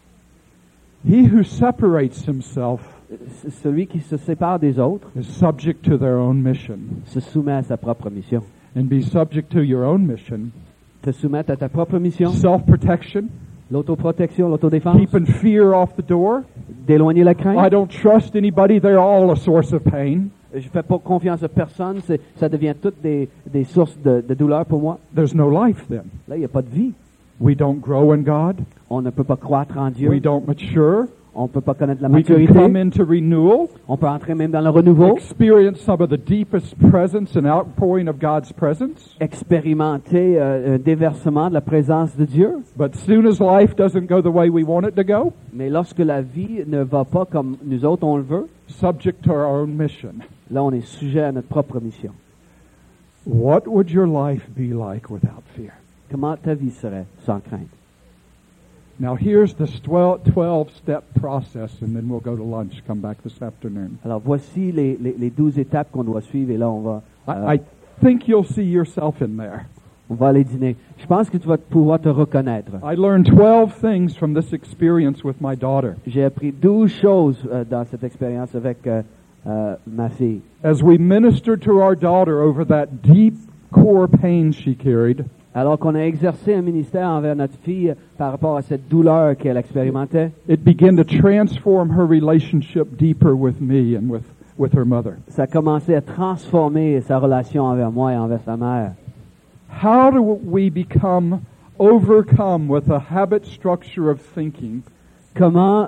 Speaker 1: He who separates himself
Speaker 2: Celui qui se sépare des autres
Speaker 1: is subject to their own mission.
Speaker 2: se soumet à sa propre mission.
Speaker 1: And be subject to your own mission.
Speaker 2: Te soumettre à ta propre mission,
Speaker 1: Self-protection,
Speaker 2: l'autoprotection, l'autodéfense,
Speaker 1: keeping fear off the door.
Speaker 2: d'éloigner la
Speaker 1: I
Speaker 2: crainte.
Speaker 1: don't trust anybody, they're all a source of pain.
Speaker 2: Je fais pas confiance à personne, ça devient toutes des sources de douleur pour moi.
Speaker 1: There's no life then.
Speaker 2: Là, il n'y a pas de vie.
Speaker 1: We don't grow in God.
Speaker 2: On ne peut pas croître en Dieu.
Speaker 1: We don't mature.
Speaker 2: On peut pas connaître la
Speaker 1: We can
Speaker 2: maturité.
Speaker 1: come into renewal,
Speaker 2: On peut entrer même dans le renouveau,
Speaker 1: experience some of the deepest presence and outpouring of God's presence.
Speaker 2: expérimenter un déversement de la présence de Dieu.
Speaker 1: But soon as life doesn't go the way we want it to go,
Speaker 2: Mais lorsque la vie ne va pas comme nous autres on le veut,
Speaker 1: subject to our own mission,
Speaker 2: là on est sujet à notre propre mission.
Speaker 1: what would your life be like without fear?
Speaker 2: Comment ta vie serait sans crainte?
Speaker 1: Now here's the 12-step process, and then we'll go to lunch, come back this afternoon.
Speaker 2: Alors voici les 12 étapes qu'on doit suivre et là on va
Speaker 1: I think you'll see yourself in there.
Speaker 2: on va aller dîner. Je pense que tu vas pouvoir te reconnaître.
Speaker 1: I learned 12 things from this experience with my daughter.
Speaker 2: J'ai appris 12 choses dans cette expérience avec ma fille.
Speaker 1: As we ministered to our daughter over that deep core pain she carried,
Speaker 2: Alors qu'on a exercé un ministère envers notre fille par rapport à cette douleur qu'elle expérimentait,
Speaker 1: it began to transform her relationship deeper with me and with her mother.
Speaker 2: ça a commencé à transformer sa relation envers moi et envers sa mère.
Speaker 1: How do we become overcome with a habit structure of thinking
Speaker 2: Comment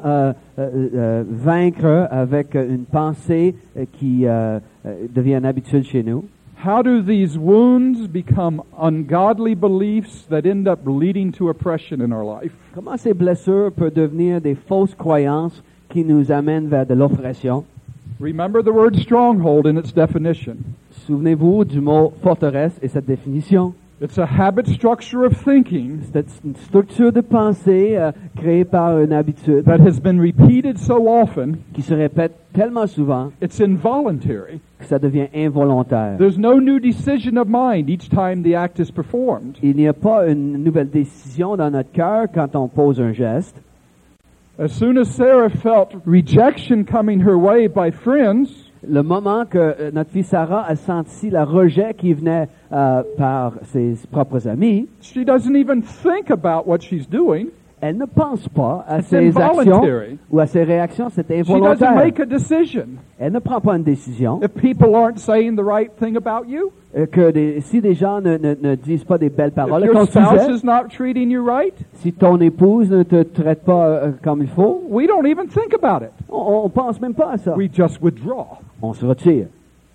Speaker 2: vaincre avec une pensée qui devient une habitude chez nous?
Speaker 1: How do these wounds become ungodly beliefs that end up leading to oppression in our life?
Speaker 2: Comment ces blessures peuvent devenir des fausses croyances qui nous amènent vers de l'oppression?
Speaker 1: Remember the word stronghold in its definition.
Speaker 2: Souvenez-vous du mot forteresse et cette définition.
Speaker 1: It's a habit structure of thinking
Speaker 2: C'est une structure de pensée créée par une habitude
Speaker 1: that has been repeated so often,
Speaker 2: qui se répète tellement souvent
Speaker 1: it's involuntary.
Speaker 2: que ça devient involontaire.
Speaker 1: There's no new decision of mind each time the act is performed.
Speaker 2: Il n'y a pas une nouvelle décision dans notre cœur quand on pose un geste.
Speaker 1: As soon as Sarah felt rejection coming her way by friends,
Speaker 2: Le moment que notre fille Sarah a senti le rejet qui venait par ses propres amis,
Speaker 1: she doesn't even think about what she's doing.
Speaker 2: elle ne pense pas à
Speaker 1: It's
Speaker 2: ses actions
Speaker 1: involuntary.
Speaker 2: ou à ses réactions, c'est
Speaker 1: She doesn't
Speaker 2: involontaire.
Speaker 1: make a decision.
Speaker 2: Elle ne prend pas une décision.
Speaker 1: If people aren't saying the right thing about you,
Speaker 2: Si des gens ne disent pas des belles
Speaker 1: if
Speaker 2: paroles à
Speaker 1: your
Speaker 2: ton
Speaker 1: spouse
Speaker 2: sujet,
Speaker 1: is not treating you right,
Speaker 2: si ton épouse ne te traite pas comme il faut,
Speaker 1: we don't even think about it.
Speaker 2: on pense même pas à ça.
Speaker 1: We just withdraw.
Speaker 2: On se retire.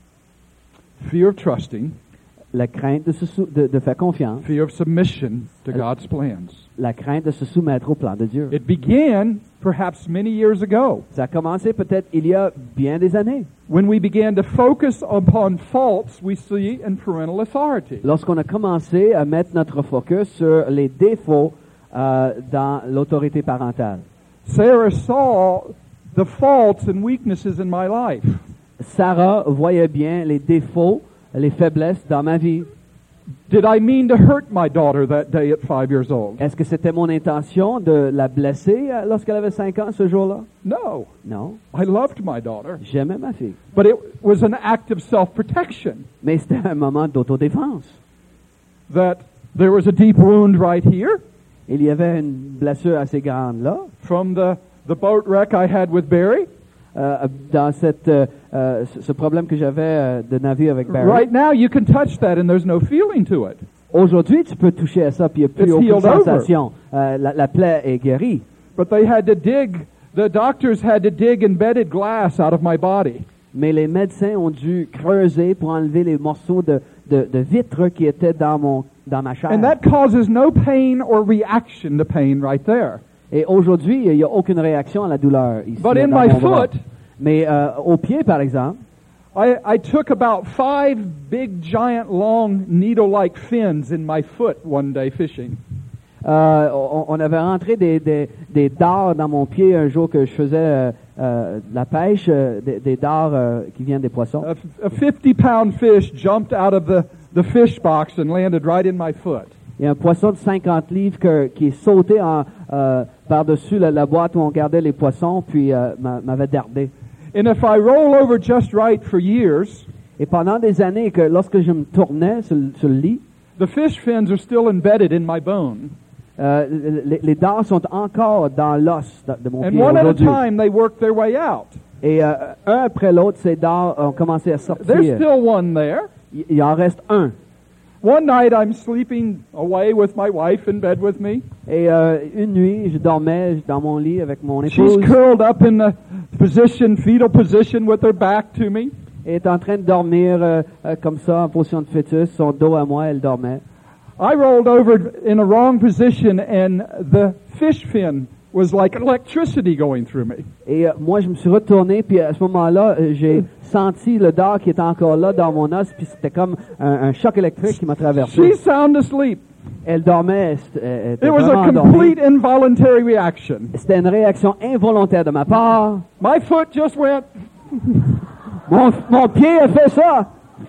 Speaker 1: Fear of trusting,
Speaker 2: La crainte de faire confiance,
Speaker 1: fear of submission to God's plans.
Speaker 2: la crainte de se soumettre au plan de Dieu.
Speaker 1: It began perhaps many years ago
Speaker 2: Ça a commencé peut-être il y a bien des années,
Speaker 1: when we began to focus upon faults we see in parental authority.
Speaker 2: lorsqu'on a commencé à mettre notre focus sur les défauts dans l'autorité parentale.
Speaker 1: Sarah saw the faults and weaknesses in my life.
Speaker 2: Sarah voyait bien les défauts, les faiblesses dans ma vie.
Speaker 1: Did I mean to hurt my daughter that day at 5 years old?
Speaker 2: Est-ce que c'était mon intention de la blesser lorsqu'elle avait 5 ans ce jour-là?
Speaker 1: No.
Speaker 2: Non,
Speaker 1: I loved my daughter.
Speaker 2: j'aimais ma fille.
Speaker 1: But it was an act of self-protection.
Speaker 2: Mais c'était un moment d'autodéfense.
Speaker 1: That there was a deep wound right here
Speaker 2: Il y avait une blessure assez grande là,
Speaker 1: from the boat wreck I had with Barry.
Speaker 2: dans ce problème que j'avais de navire avec Barry.
Speaker 1: Right now you can touch that and there's no feeling to it.
Speaker 2: Aujourd'hui, tu peux toucher à ça, puis il n'y a plus
Speaker 1: It's
Speaker 2: aucune
Speaker 1: healed over.
Speaker 2: sensation. La plaie est guérie.
Speaker 1: But the doctors had to dig embedded glass out of my body.
Speaker 2: Mais les médecins ont dû creuser pour enlever les morceaux de vitre qui étaient dans ma chair.
Speaker 1: And that causes no pain or reaction to pain right there.
Speaker 2: Et aujourd'hui, il n'y a aucune réaction à la douleur ici.
Speaker 1: But in
Speaker 2: dans
Speaker 1: my
Speaker 2: mon bras.
Speaker 1: foot,
Speaker 2: Mais au pied, par exemple,
Speaker 1: I took about 5 big, giant, long, needle-like fins in my foot one day fishing.
Speaker 2: on avait rentré des dards dans mon pied un jour que je faisais la pêche, des dards qui viennent des poissons.
Speaker 1: A 50-pound fish jumped out of the fish box and landed right in my foot.
Speaker 2: Il y a un poisson de 50 livres qui est sauté par-dessus la boîte où on gardait les poissons, puis m'avait dardé.
Speaker 1: And if I roll over just right for years,
Speaker 2: Et pendant des années, que lorsque je me tournais sur le lit,
Speaker 1: the fish fins are still embedded in my bone.
Speaker 2: les dards sont encore dans l'os de mon
Speaker 1: And
Speaker 2: pied
Speaker 1: one at a
Speaker 2: aujourd'hui.
Speaker 1: time, they work their way out.
Speaker 2: Et un après l'autre, ces dards ont commencé à
Speaker 1: There's
Speaker 2: sortir.
Speaker 1: still one there,
Speaker 2: Il en reste un.
Speaker 1: One night I'm sleeping away with my wife in bed with me.
Speaker 2: Et une nuit, je dormais dans mon lit avec mon
Speaker 1: She's
Speaker 2: épouse.
Speaker 1: curled up in the fetal position with her back to me.
Speaker 2: Elle est en train de dormir comme ça, en position de fœtus, son dos à moi, elle dormait.
Speaker 1: I rolled over in a wrong position and the fish fin was like electricity going through me.
Speaker 2: Et moi, je me suis retourné, puis à ce moment-là, j'ai senti le dard qui était encore là dans mon os, puis c'était comme un choc électrique qui m'a traversé.
Speaker 1: She's sound asleep.
Speaker 2: Elle dormait, elle était
Speaker 1: It was
Speaker 2: vraiment
Speaker 1: a
Speaker 2: endormie.
Speaker 1: complete involuntary reaction.
Speaker 2: C'était une réaction involontaire de ma part.
Speaker 1: My foot just went.
Speaker 2: Mon pied a fait ça.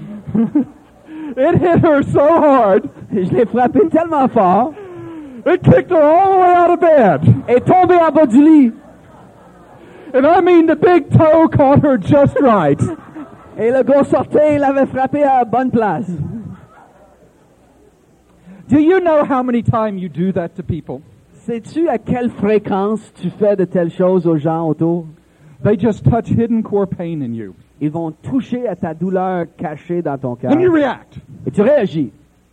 Speaker 1: It hit her so hard.
Speaker 2: Je l'ai frappé tellement fort.
Speaker 1: It kicked her all the way out of bed.
Speaker 2: Elle est tombée en bas du lit.
Speaker 1: And I mean the big toe caught her just right.
Speaker 2: Et le gros sortait, il l'avait frappé à la bonne place.
Speaker 1: Do you know how many times you do that to people?
Speaker 2: Sais-tu à quelle fréquence tu fais de telles choses aux gens autour?
Speaker 1: They just touch hidden core pain in you.
Speaker 2: Ils vont toucher à ta douleur cachée dans ton cœur.
Speaker 1: And you react.
Speaker 2: Et tu réagis.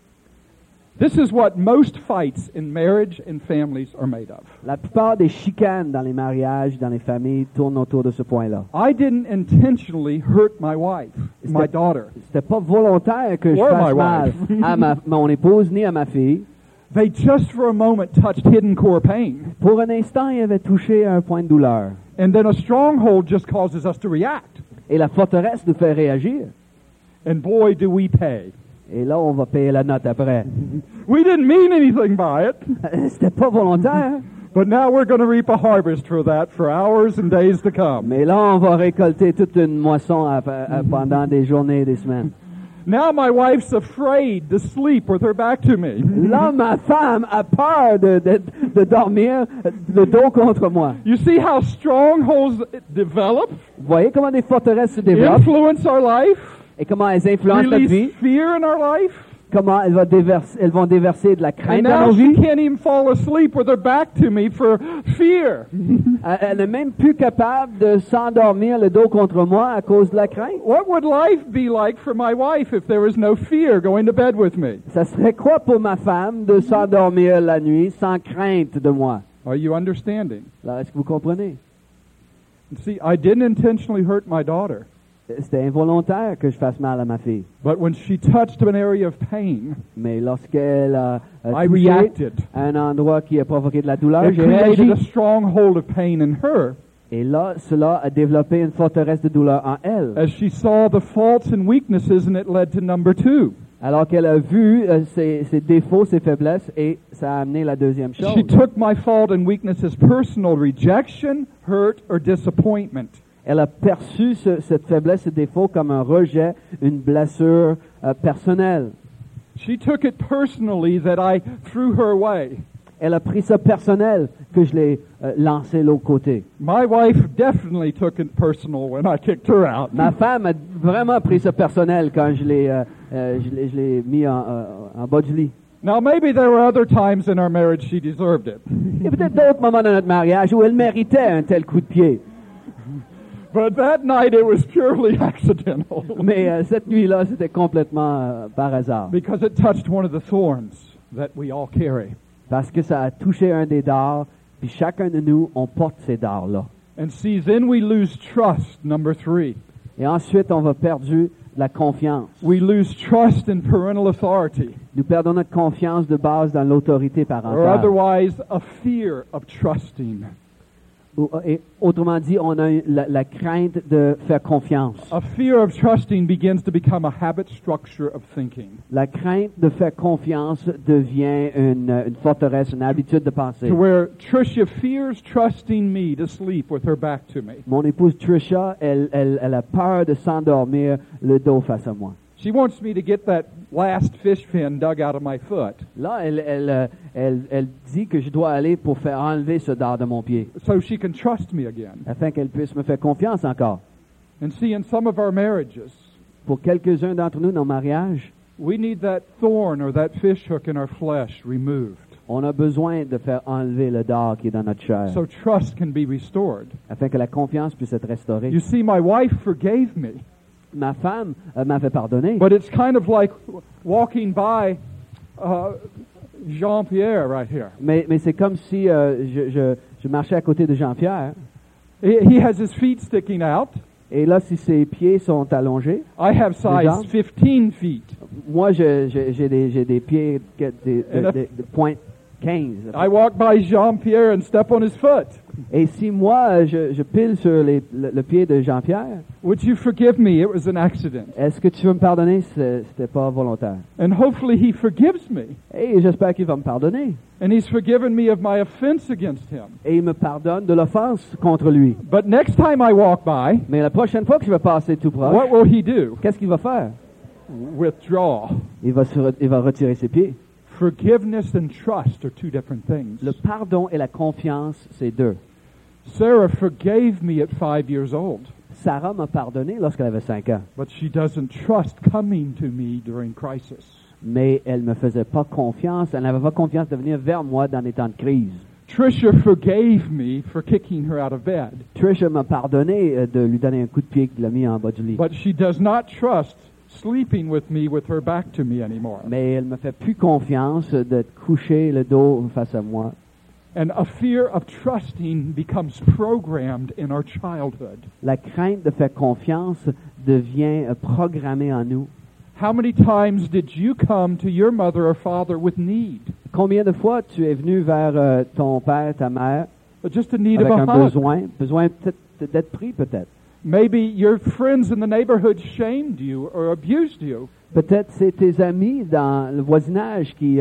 Speaker 1: This is what most fights in marriage and families are made of.
Speaker 2: La plupart des chicanes dans les mariages, dans les familles, tournent autour de ce point-là.
Speaker 1: I didn't intentionally hurt my wife, my daughter.
Speaker 2: C'était pas volontaire que je
Speaker 1: Or
Speaker 2: fasse
Speaker 1: my
Speaker 2: mal
Speaker 1: wife.
Speaker 2: à mon épouse ni à ma fille.
Speaker 1: They just for a moment touched hidden core pain.
Speaker 2: Pour un instant, il avait touché à un point de douleur.
Speaker 1: And then a stronghold just causes us to react.
Speaker 2: Et la forteresse nous fait réagir.
Speaker 1: And boy, do we pay.
Speaker 2: Et là, on va payer la note après.
Speaker 1: We didn't mean anything by it,
Speaker 2: C'était pas volontaire.
Speaker 1: but now we're going to reap a harvest for that for hours and days to come.
Speaker 2: Mais là, on va récolter toute une moisson pendant des journées et des semaines.
Speaker 1: Now my wife's afraid to sleep with her back to me.
Speaker 2: Là, ma femme a peur de dormir le dos contre moi.
Speaker 1: You see how strongholds develop,
Speaker 2: Vous voyez comment des forteresses se développent
Speaker 1: influence our life,
Speaker 2: et comment elles influencent notre vie,
Speaker 1: release fear in our life?
Speaker 2: comment elles vont déverser de la
Speaker 1: And
Speaker 2: crainte dans
Speaker 1: now
Speaker 2: nos
Speaker 1: she
Speaker 2: vies.
Speaker 1: can't even fall asleep with her back to me for fear.
Speaker 2: Elle n'est même plus capable de s'endormir le dos contre moi à cause de la crainte.
Speaker 1: What would life be like for my wife if there was no fear going to bed with me?
Speaker 2: Ça serait quoi pour ma femme de s'endormir la nuit sans crainte de moi?
Speaker 1: Are you understanding?
Speaker 2: Alors, est-ce que vous comprenez?
Speaker 1: See, I didn't intentionally hurt my daughter,
Speaker 2: C'était involontaire que je fasse mal à ma fille.
Speaker 1: but when she touched an area of pain,
Speaker 2: Mais lorsqu'elle a
Speaker 1: I
Speaker 2: touché
Speaker 1: reacted.
Speaker 2: à un endroit qui a provoqué de la douleur,
Speaker 1: It
Speaker 2: j'ai
Speaker 1: created
Speaker 2: réagi.
Speaker 1: a stronghold of pain in her
Speaker 2: Et là, cela a développé une forteresse de douleur en elle.
Speaker 1: as she saw the faults and weaknesses, and it led to number 2.
Speaker 2: Alors qu'elle a vu ses défauts, ses faiblesses, et ça a amené la deuxième chose.
Speaker 1: She took my fault and weakness as personal rejection, hurt, or disappointment.
Speaker 2: Elle a perçu cette faiblesse, ce défaut comme un rejet, une blessure personnelle.
Speaker 1: She took it personally that I threw her away.
Speaker 2: Elle a pris ça personnel que je l'ai lancé de l'autre côté.
Speaker 1: My wife definitely took it personal when I kicked her out.
Speaker 2: Ma femme a vraiment pris ça personnel quand je l'ai mis en bas du lit.
Speaker 1: Now, maybe there were other times in our marriage she deserved it.
Speaker 2: Il y a peut-être d'autres moments dans notre mariage où elle méritait un tel coup de pied.
Speaker 1: But that night it was purely accidental
Speaker 2: Mais cette nuit-là, c'était complètement par hasard.
Speaker 1: because it touched one of the thorns that we all carry.
Speaker 2: Parce que ça a touché un des dards, puis chacun de nous, on porte ces dards-là.
Speaker 1: And see, then we lose trust, number 3.
Speaker 2: Et ensuite, on va perdre la confiance.
Speaker 1: We lose trust in parental authority,
Speaker 2: Nous perdons notre confiance de base dans l'autorité
Speaker 1: or
Speaker 2: parentale.
Speaker 1: otherwise a fear of trusting.
Speaker 2: Et autrement dit, on a la crainte de faire confiance.
Speaker 1: A fear of trusting begins to become a habit structure of thinking.
Speaker 2: La crainte de faire confiance devient une forteresse, une habitude de penser.
Speaker 1: To where Tricia fears trusting me to sleep with her back to me.
Speaker 2: Mon épouse Tricia, elle a peur de s'endormir le dos face à moi.
Speaker 1: She wants me to get that last fish fin dug out of my foot
Speaker 2: Là, elle dit que je dois aller pour faire enlever ce dard de mon pied,
Speaker 1: so she can trust me again.
Speaker 2: afin qu'elle puisse me faire confiance encore.
Speaker 1: And see, in some of our marriages,
Speaker 2: Pour quelques-uns d'entre nous, nos mariages,
Speaker 1: we need that thorn or that fish hook in our flesh removed
Speaker 2: on a besoin de faire enlever le dard qui est dans notre chair,
Speaker 1: so trust can be restored.
Speaker 2: afin que la confiance puisse être restaurée.
Speaker 1: You see, my wife forgave me.
Speaker 2: ma femme m'avait pardonné.
Speaker 1: But it's kind of like walking by Jean-Pierre right here.
Speaker 2: Mais c'est comme si je marchais à côté de Jean-Pierre.
Speaker 1: He has his feet sticking out.
Speaker 2: Et là, si ses pieds sont allongés,
Speaker 1: I have size 15 feet.
Speaker 2: moi, j'ai des pieds de pointe 15.
Speaker 1: I walk by Jean-Pierre and step on his foot.
Speaker 2: Et si moi, je pile sur le pied de Jean-Pierre,
Speaker 1: Would you forgive me? It was an accident.
Speaker 2: est-ce que tu veux me pardonner? C'était pas volontaire.
Speaker 1: And hopefully he forgives me.
Speaker 2: Et j'espère qu'il va me pardonner.
Speaker 1: And he's forgiven me of my offense against him.
Speaker 2: Et il me pardonne de l'offense contre lui.
Speaker 1: But next time I walk by,
Speaker 2: Mais la prochaine fois que je vais passer tout proche,
Speaker 1: what will he do?
Speaker 2: qu'est-ce qu'il va faire?
Speaker 1: Withdraw.
Speaker 2: Il va retirer ses pieds.
Speaker 1: Forgiveness and trust are two different things.
Speaker 2: Le pardon et la confiance, c'est deux.
Speaker 1: Sarah forgave me at 5 years old,
Speaker 2: Sarah m'a pardonné lorsqu'elle avait 5 ans,
Speaker 1: but she doesn't trust coming to me during crisis.
Speaker 2: mais elle me faisait pas confiance. Elle n'avait pas confiance de venir vers moi dans des temps de crise.
Speaker 1: Tricia forgave me for kicking her out of bed,
Speaker 2: Tricia m'a pardonné de lui donner un coup de pied qui l'a mis en bas du lit.
Speaker 1: but she does not trust sleeping with me with her back to me anymore.
Speaker 2: Mais elle me fait plus confiance d'être couché le dos face à moi.
Speaker 1: And a fear of trusting becomes programmed in our childhood.
Speaker 2: La crainte de faire confiance devient programmée en nous.
Speaker 1: How many times did you come to your mother or father with need?
Speaker 2: Combien de fois tu es venu vers ton père, ta mère,
Speaker 1: Just a need
Speaker 2: avec
Speaker 1: of
Speaker 2: un
Speaker 1: a hug.
Speaker 2: besoin peut-être d'être pris peut-être.
Speaker 1: Maybe your friends in the neighborhood shamed you or abused you.
Speaker 2: Peut-être c'est tes amis dans le voisinage qui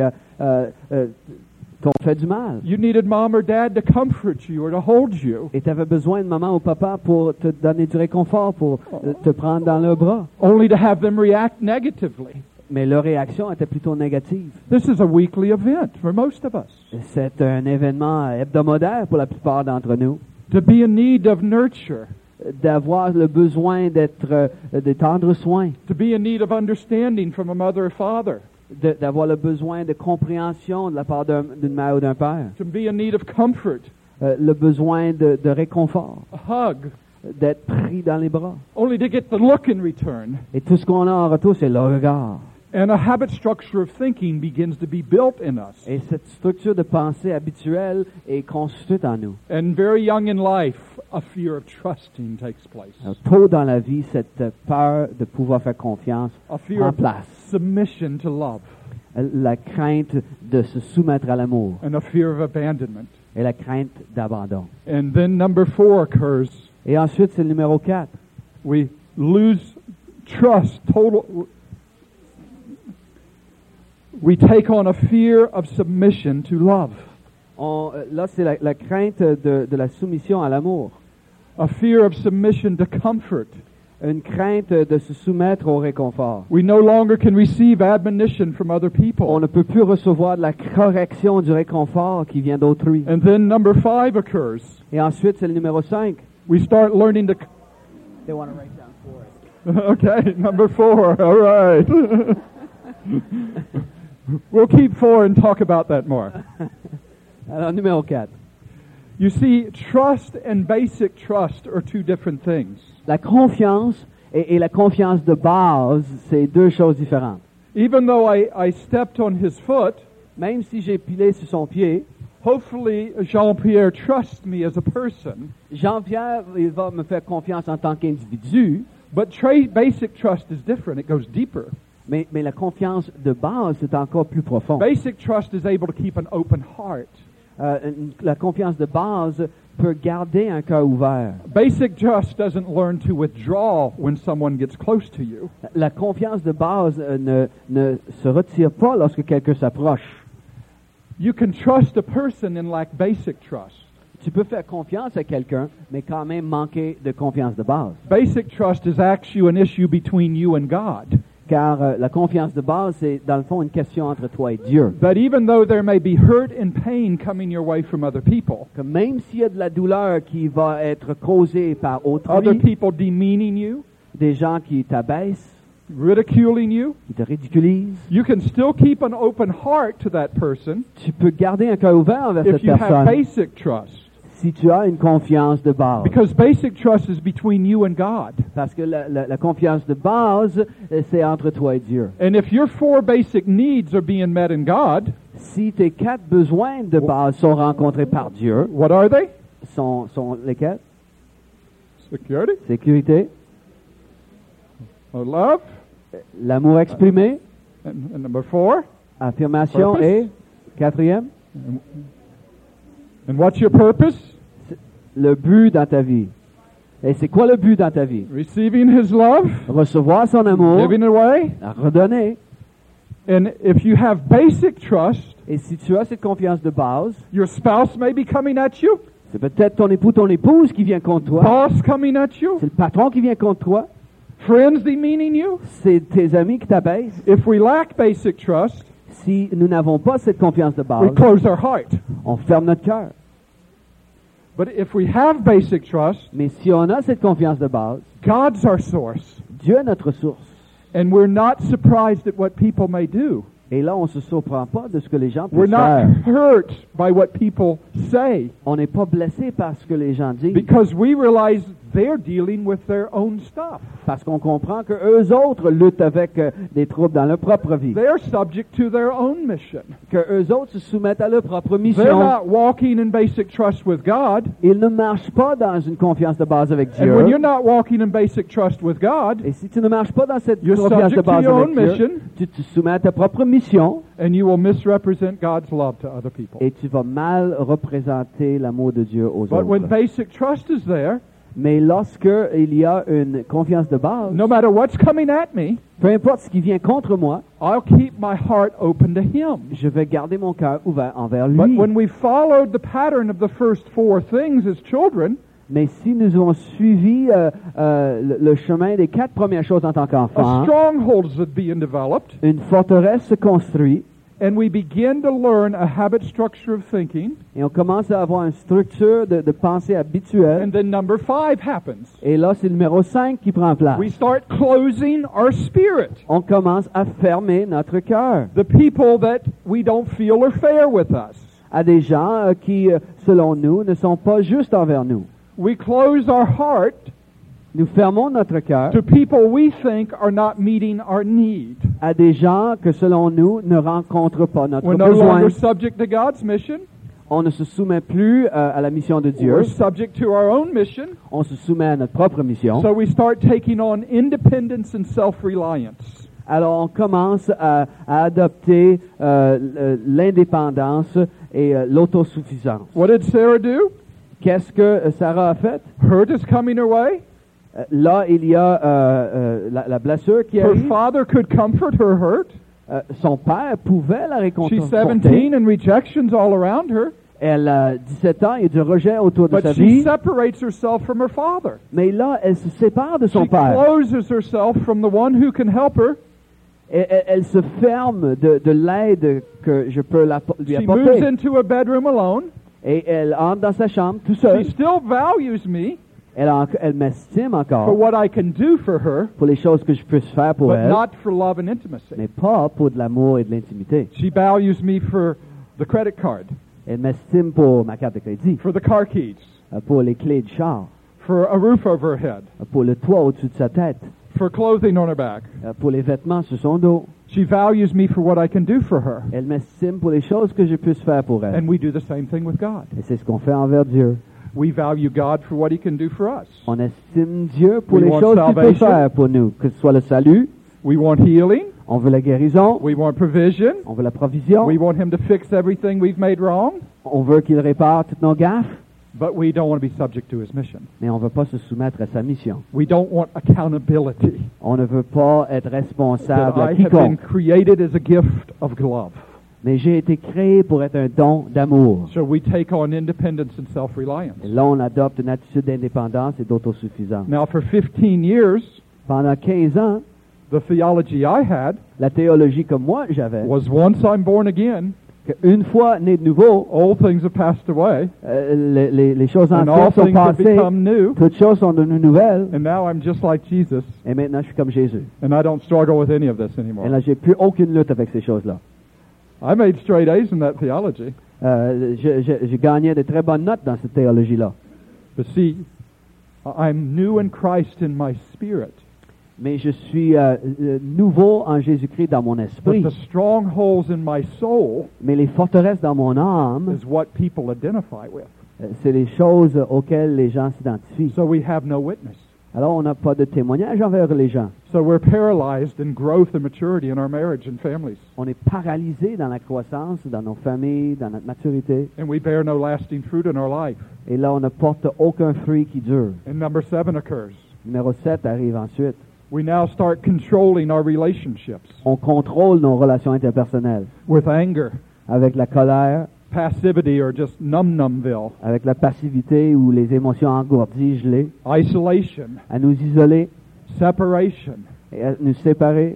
Speaker 2: t'ont fait du mal.
Speaker 1: You needed mom or dad to comfort you or to hold you.
Speaker 2: Et tu avais besoin de maman ou papa pour te donner du réconfort, pour te prendre dans leurs bras.
Speaker 1: Only to have them react negatively.
Speaker 2: Mais leur réaction était plutôt négative.
Speaker 1: This is a weekly event for most of us.
Speaker 2: C'est un événement hebdomadaire pour la plupart d'entre nous.
Speaker 1: To be in need of nurture.
Speaker 2: D'avoir le besoin d'être de tendre soin,
Speaker 1: To be in need of understanding from a mother or father.
Speaker 2: d'avoir le besoin de compréhension de la part d'une mère ou d'un père,
Speaker 1: To be in need of comfort.
Speaker 2: le besoin de réconfort,
Speaker 1: A hug.
Speaker 2: d'être pris dans les bras.
Speaker 1: Only to get the look in return.
Speaker 2: Et tout ce qu'on a en retour, c'est le regard.
Speaker 1: And a habit structure of thinking begins to be built in us.
Speaker 2: Et cette structure de pensée habituelle est constituée en nous.
Speaker 1: And very young in life, a fear of trusting takes place.
Speaker 2: Alors, tôt dans la vie, cette peur de pouvoir faire confiance
Speaker 1: A fear
Speaker 2: en
Speaker 1: of
Speaker 2: place.
Speaker 1: submission to love.
Speaker 2: La crainte de se soumettre à l'amour
Speaker 1: And a fear of abandonment.
Speaker 2: et la crainte d'abandon.
Speaker 1: And then number 4 occurs.
Speaker 2: Et ensuite, c'est le numéro 4.
Speaker 1: We lose trust, total. We take on a fear of submission to love.
Speaker 2: Là, c'est la crainte de la soumission à l'amour.
Speaker 1: A fear of submission to comfort.
Speaker 2: Une crainte de se soumettre au réconfort.
Speaker 1: We no longer can receive admonition from other
Speaker 2: On
Speaker 1: people.
Speaker 2: ne peut plus recevoir de la correction du réconfort qui vient d'autrui.
Speaker 1: And then number 5 occurs.
Speaker 2: Et ensuite, c'est le numéro 5.
Speaker 1: We start learning to.
Speaker 2: They want to write down for us.
Speaker 1: Okay, number 4. All right. We'll keep 4 and talk about that more.
Speaker 2: Alors, numéro 4.
Speaker 1: You see, trust and basic trust are two different things.
Speaker 2: La confiance et la confiance de base, c'est deux choses différentes.
Speaker 1: Even though I stepped on his foot,
Speaker 2: Même si j'ai pilé sur son pied,
Speaker 1: hopefully Jean-Pierre trusts me as a person.
Speaker 2: Jean-Pierre, il va me faire confiance en tant qu'individu,
Speaker 1: But basic trust is different. It goes deeper.
Speaker 2: mais la confiance de base, c'est encore plus profond.
Speaker 1: Basic trust is able to keep an open heart.
Speaker 2: La confiance de base peut garder un cœur ouvert.
Speaker 1: Basic trust doesn't learn to withdraw when someone gets close to you.
Speaker 2: La confiance de base ne se retire pas lorsque quelqu'un s'approche.
Speaker 1: You can trust a person and lack basic trust.
Speaker 2: Tu peux faire confiance à quelqu'un, mais quand même manquer de confiance de base.
Speaker 1: Basic trust is actually an issue between you and God.
Speaker 2: Car la confiance de base, c'est dans le fond une question entre toi et Dieu.
Speaker 1: That even though there may be hurt and pain coming your way from other people,
Speaker 2: Que même s'il y a de la douleur qui va être causée par
Speaker 1: other
Speaker 2: autrui,
Speaker 1: people demeaning you,
Speaker 2: des gens qui t'abaissent,
Speaker 1: ridiculing you,
Speaker 2: qui te ridiculisent,
Speaker 1: you can still keep an open heart to that person
Speaker 2: tu peux garder un cœur ouvert envers
Speaker 1: if
Speaker 2: cette
Speaker 1: you have
Speaker 2: personne
Speaker 1: basic trust.
Speaker 2: si tu as une confiance de base.
Speaker 1: Because basic trust is between you and God.
Speaker 2: Parce que la confiance de base, c'est entre toi et Dieu.
Speaker 1: And if your 4 basic needs are being met in God,
Speaker 2: Si tes 4 besoins de base sont rencontrés par Dieu,
Speaker 1: what are they?
Speaker 2: sont lesquels?
Speaker 1: Security,
Speaker 2: Sécurité,
Speaker 1: love,
Speaker 2: l'amour exprimé,
Speaker 1: and number 4.
Speaker 2: affirmation
Speaker 1: Purpose.
Speaker 2: et, 4e,
Speaker 1: And what's your purpose?
Speaker 2: le but dans ta vie. Et c'est quoi le but dans ta vie?
Speaker 1: Receiving His love,
Speaker 2: Recevoir son amour,
Speaker 1: giving it away.
Speaker 2: la redonner.
Speaker 1: And if you have basic trust,
Speaker 2: Et si tu as cette confiance de base,
Speaker 1: your spouse may be coming at you,
Speaker 2: c'est peut-être ton époux, ton épouse qui vient contre toi.
Speaker 1: boss coming at you,
Speaker 2: C'est le patron qui vient contre toi.
Speaker 1: friends demeaning you.
Speaker 2: C'est tes amis qui t'abaissent.
Speaker 1: If we lack basic trust,
Speaker 2: Si nous n'avons pas cette confiance de
Speaker 1: we
Speaker 2: base,
Speaker 1: close our heart.
Speaker 2: on ferme notre cœur.
Speaker 1: But if we have basic trust,
Speaker 2: Mais si on a cette confiance de base,
Speaker 1: God's our source.
Speaker 2: Dieu est notre source.
Speaker 1: And we're not surprised at what people may do.
Speaker 2: Et là, on ne se surprend pas de ce que les gens
Speaker 1: We're
Speaker 2: peuvent
Speaker 1: not
Speaker 2: faire.
Speaker 1: hurt by what people say
Speaker 2: On n'est pas blessé par ce que les gens disent.
Speaker 1: because we realize they're dealing with their own stuff.
Speaker 2: Parce qu'on comprend que eux autres luttent avec des troubles dans leur propre vie.
Speaker 1: They're subject to their own mission.
Speaker 2: Que eux autres se soumettent à leur propre
Speaker 1: They're
Speaker 2: mission.
Speaker 1: not walking in basic trust with God.
Speaker 2: Ils ne marchent pas dans une confiance de base avec
Speaker 1: And when
Speaker 2: Dieu.
Speaker 1: you're not walking in basic trust with God,
Speaker 2: Et si tu ne marches pas dans cette
Speaker 1: you're
Speaker 2: confiance de
Speaker 1: subject to
Speaker 2: base
Speaker 1: your
Speaker 2: avec
Speaker 1: own
Speaker 2: Dieu,
Speaker 1: mission,
Speaker 2: tu te soumets à ta propre mission
Speaker 1: and you will misrepresent God's love to other people.
Speaker 2: et tu vas mal représenter l'amour de Dieu aux
Speaker 1: But when
Speaker 2: autres.
Speaker 1: basic trust is there,
Speaker 2: Mais lorsque il y a une confiance de base,
Speaker 1: no matter what's coming at me,
Speaker 2: peu importe ce qui vient contre moi,
Speaker 1: I'll keep my heart open to Him.
Speaker 2: je vais garder mon cœur ouvert envers
Speaker 1: But
Speaker 2: lui.
Speaker 1: when we followed the pattern of the first 4 things as children,
Speaker 2: Mais si nous avons suivi le chemin des 4 premières choses en tant
Speaker 1: a
Speaker 2: qu'enfant,
Speaker 1: stronghold is being developed,
Speaker 2: une forteresse se construit
Speaker 1: and we begin to learn a habit structure of thinking,
Speaker 2: et on commence à avoir une structure de pensée habituelle.
Speaker 1: and then number 5 happens.
Speaker 2: Et là, c'est le numéro 5 qui prend place.
Speaker 1: We start closing our spirit.
Speaker 2: On commence à fermer notre cœur
Speaker 1: The people that we don't feel are fair with us.
Speaker 2: à des gens qui, selon nous, ne sont pas justes envers nous.
Speaker 1: We close our heart
Speaker 2: Nous fermons notre cœur
Speaker 1: to people we think are not meeting our need.
Speaker 2: à des gens que, selon nous, ne rencontrent pas notre
Speaker 1: We're no
Speaker 2: besoin.
Speaker 1: longer subject to God's mission.
Speaker 2: On ne se soumet plus à la mission de Dieu.
Speaker 1: We're subject to our own mission.
Speaker 2: On se soumet à notre propre mission.
Speaker 1: So we start taking on independence and self-reliance.
Speaker 2: Alors, on commence à adopter l'indépendance et l'autosuffisance.
Speaker 1: What did Sarah do?
Speaker 2: Qu'est-ce que Sarah a fait?
Speaker 1: Hurt is coming her way.
Speaker 2: Là, il y a la blessure qui
Speaker 1: Her
Speaker 2: arrive.
Speaker 1: father could comfort her hurt.
Speaker 2: Son père pouvait la
Speaker 1: She's
Speaker 2: réconforter.
Speaker 1: 17 and rejections all around her.
Speaker 2: Elle a 17 ans, il y a du rejet autour de
Speaker 1: But
Speaker 2: sa
Speaker 1: she
Speaker 2: vie.
Speaker 1: separates herself from her father.
Speaker 2: Mais là, elle se sépare de son
Speaker 1: She
Speaker 2: père.
Speaker 1: closes herself from the one who can help her.
Speaker 2: Et elle se ferme de l'aide que je peux lui
Speaker 1: She moves
Speaker 2: apporter.
Speaker 1: into a bedroom alone.
Speaker 2: Et elle entre dans sa chambre tout
Speaker 1: She
Speaker 2: seul.
Speaker 1: still values me
Speaker 2: Elle m'estime
Speaker 1: for
Speaker 2: encore
Speaker 1: what I can do for her,
Speaker 2: pour les choses que je peux faire pour
Speaker 1: but
Speaker 2: elle,
Speaker 1: not for love and intimacy.
Speaker 2: mais pas pour de l'amour et de l'intimité.
Speaker 1: She values me for the credit card,
Speaker 2: Elle m'estime pour ma carte de crédit,
Speaker 1: for the car keys,
Speaker 2: pour les clés de char,
Speaker 1: for a roof over her head,
Speaker 2: pour le toit au-dessus de sa tête,
Speaker 1: for clothing on her back.
Speaker 2: pour les vêtements sur son dos.
Speaker 1: She values me for what I can do for her.
Speaker 2: Elle m'estime pour les choses que je puisse faire pour elle.
Speaker 1: And we do the same thing with God.
Speaker 2: Et c'est ce qu'on fait envers Dieu.
Speaker 1: We value God for what He can do for us.
Speaker 2: On estime Dieu pour
Speaker 1: We
Speaker 2: les
Speaker 1: want
Speaker 2: choses qu'il peut
Speaker 1: salvation.
Speaker 2: faire pour nous, que ce soit le salut,
Speaker 1: We want healing.
Speaker 2: on veut la guérison,
Speaker 1: We want provision.
Speaker 2: on veut la provision,
Speaker 1: We want Him to fix everything we've made wrong.
Speaker 2: on veut qu'il répare toutes nos gaffes,
Speaker 1: But we don't want to be subject to His mission.
Speaker 2: mais on ne veut pas se soumettre à sa mission.
Speaker 1: We don't want accountability.
Speaker 2: On ne veut pas être
Speaker 1: That
Speaker 2: responsable à
Speaker 1: I have been
Speaker 2: quiconque.
Speaker 1: created as a gift of love.
Speaker 2: Mais j'ai été créé pour être un don d'amour.
Speaker 1: So we take on independence and self-reliance.
Speaker 2: Et là, on adopte une attitude d'indépendance et d'autosuffisance.
Speaker 1: Now, for 15 years,
Speaker 2: Pendant 15 ans,
Speaker 1: the theology I had
Speaker 2: la théologie que moi j'avais,
Speaker 1: was once I'm born again,
Speaker 2: qu'une fois né de nouveau,
Speaker 1: old things have passed away,
Speaker 2: les choses
Speaker 1: and all
Speaker 2: anciennes sont
Speaker 1: things have
Speaker 2: passées,
Speaker 1: become new,
Speaker 2: toutes choses sont devenues nouvelles,
Speaker 1: and now I'm just like Jesus,
Speaker 2: et maintenant je suis comme Jésus.
Speaker 1: and I don't struggle with any of this
Speaker 2: Et
Speaker 1: anymore.
Speaker 2: là, j'ai plus aucune lutte avec ces choses-là.
Speaker 1: I made straight A's in that theology.
Speaker 2: Je gagnais de très bonnes notes dans cette théologie-là.
Speaker 1: But see, I'm new in Christ in my spirit.
Speaker 2: Mais je suis nouveau en Jésus-Christ dans mon
Speaker 1: But
Speaker 2: esprit.
Speaker 1: the strongholds in my soul
Speaker 2: Mais les forteresses dans mon âme,
Speaker 1: is what people identify with.
Speaker 2: c'est les choses auxquelles les gens s'identifient.
Speaker 1: So we have no witness.
Speaker 2: Alors, on n'a pas de témoignage envers les gens.
Speaker 1: So we're paralyzed in growth and maturity in our marriage and families.
Speaker 2: On est paralysé dans la croissance, dans nos familles, dans notre maturité.
Speaker 1: And we bear no lasting fruit in our life.
Speaker 2: Et là, on ne porte aucun fruit qui dure.
Speaker 1: And number 7 occurs.
Speaker 2: Numéro 7 arrive ensuite.
Speaker 1: We now start controlling our relationships
Speaker 2: On contrôle nos relations interpersonnelles
Speaker 1: with anger,
Speaker 2: avec la colère,
Speaker 1: passivity, or just numb-numbville,
Speaker 2: avec la passivité ou les émotions engourdies, gelées,
Speaker 1: isolation,
Speaker 2: à nous isoler
Speaker 1: separation.
Speaker 2: et à nous séparer.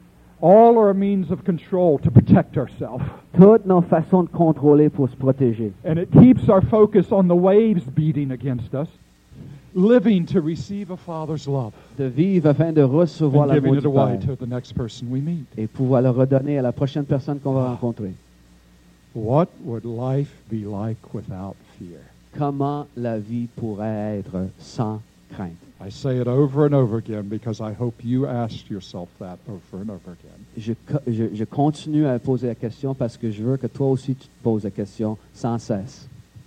Speaker 1: All are means of control to protect ourselves.
Speaker 2: Toutes nos façons de contrôler pour se protéger.
Speaker 1: And it keeps our focus on the waves beating against us, living to receive a Father's love
Speaker 2: De vivre afin de recevoir
Speaker 1: and
Speaker 2: l'amour
Speaker 1: giving it
Speaker 2: du
Speaker 1: away
Speaker 2: Père
Speaker 1: to the next person we meet.
Speaker 2: et pouvoir le redonner à la prochaine personne qu'on va rencontrer.
Speaker 1: What would life be like without fear?
Speaker 2: Comment la vie pourrait être sans crainte?
Speaker 1: I say it over and over again because I hope you asked yourself that over and over again.
Speaker 2: Je continue à poser la question parce que je veux que toi aussi tu te poses la question sans cesse.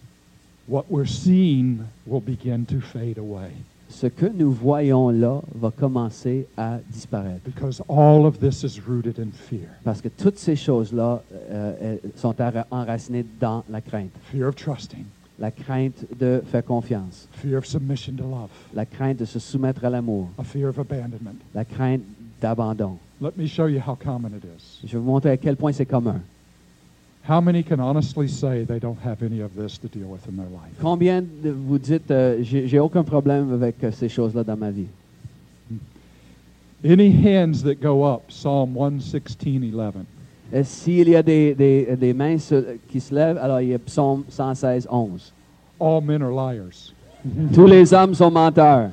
Speaker 1: What we're seeing will begin to fade away
Speaker 2: Ce que nous voyons là va commencer à disparaître.
Speaker 1: because all of this is rooted in fear.
Speaker 2: Parce que toutes ces choses-là sont enracinées dans la crainte.
Speaker 1: Fear of trusting,
Speaker 2: La crainte de faire confiance.
Speaker 1: fear of submission to love,
Speaker 2: La crainte de se soumettre à l'amour.
Speaker 1: a fear of abandonment.
Speaker 2: La crainte d'abandon.
Speaker 1: Let me show you how common it is.
Speaker 2: Je vais vous montrer à quel point c'est commun.
Speaker 1: How many can honestly say they don't have any of this to deal with in their life?
Speaker 2: Combien de vous dites, j'ai aucun problème avec ces choses-là dans ma vie?
Speaker 1: Any hands that go up? Psalm 116:11.
Speaker 2: S'il y a des mains qui se lèvent, alors il y a Psaume 116, 11.
Speaker 1: All men are liars.
Speaker 2: Tous les hommes sont menteurs.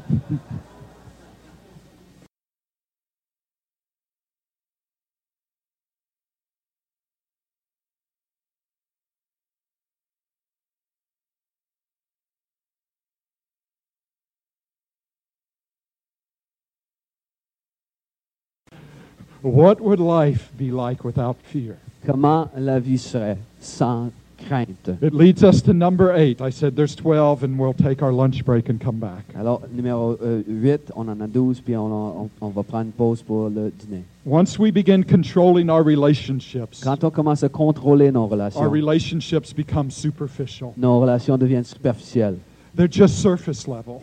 Speaker 1: What would life be like without fear?
Speaker 2: Comment la vie serait sans crainte?
Speaker 1: It leads us to number 8. I said there's 12, and we'll take our lunch break and come back.
Speaker 2: Alors, numéro 8, on en a 12, puis on va prendre une pause pour le dîner.
Speaker 1: Once we begin controlling our relationships,
Speaker 2: Quand on commence à contrôler nos
Speaker 1: our
Speaker 2: relations,
Speaker 1: relationships become superficial.
Speaker 2: nos relations deviennent superficielles,
Speaker 1: They're just surface level.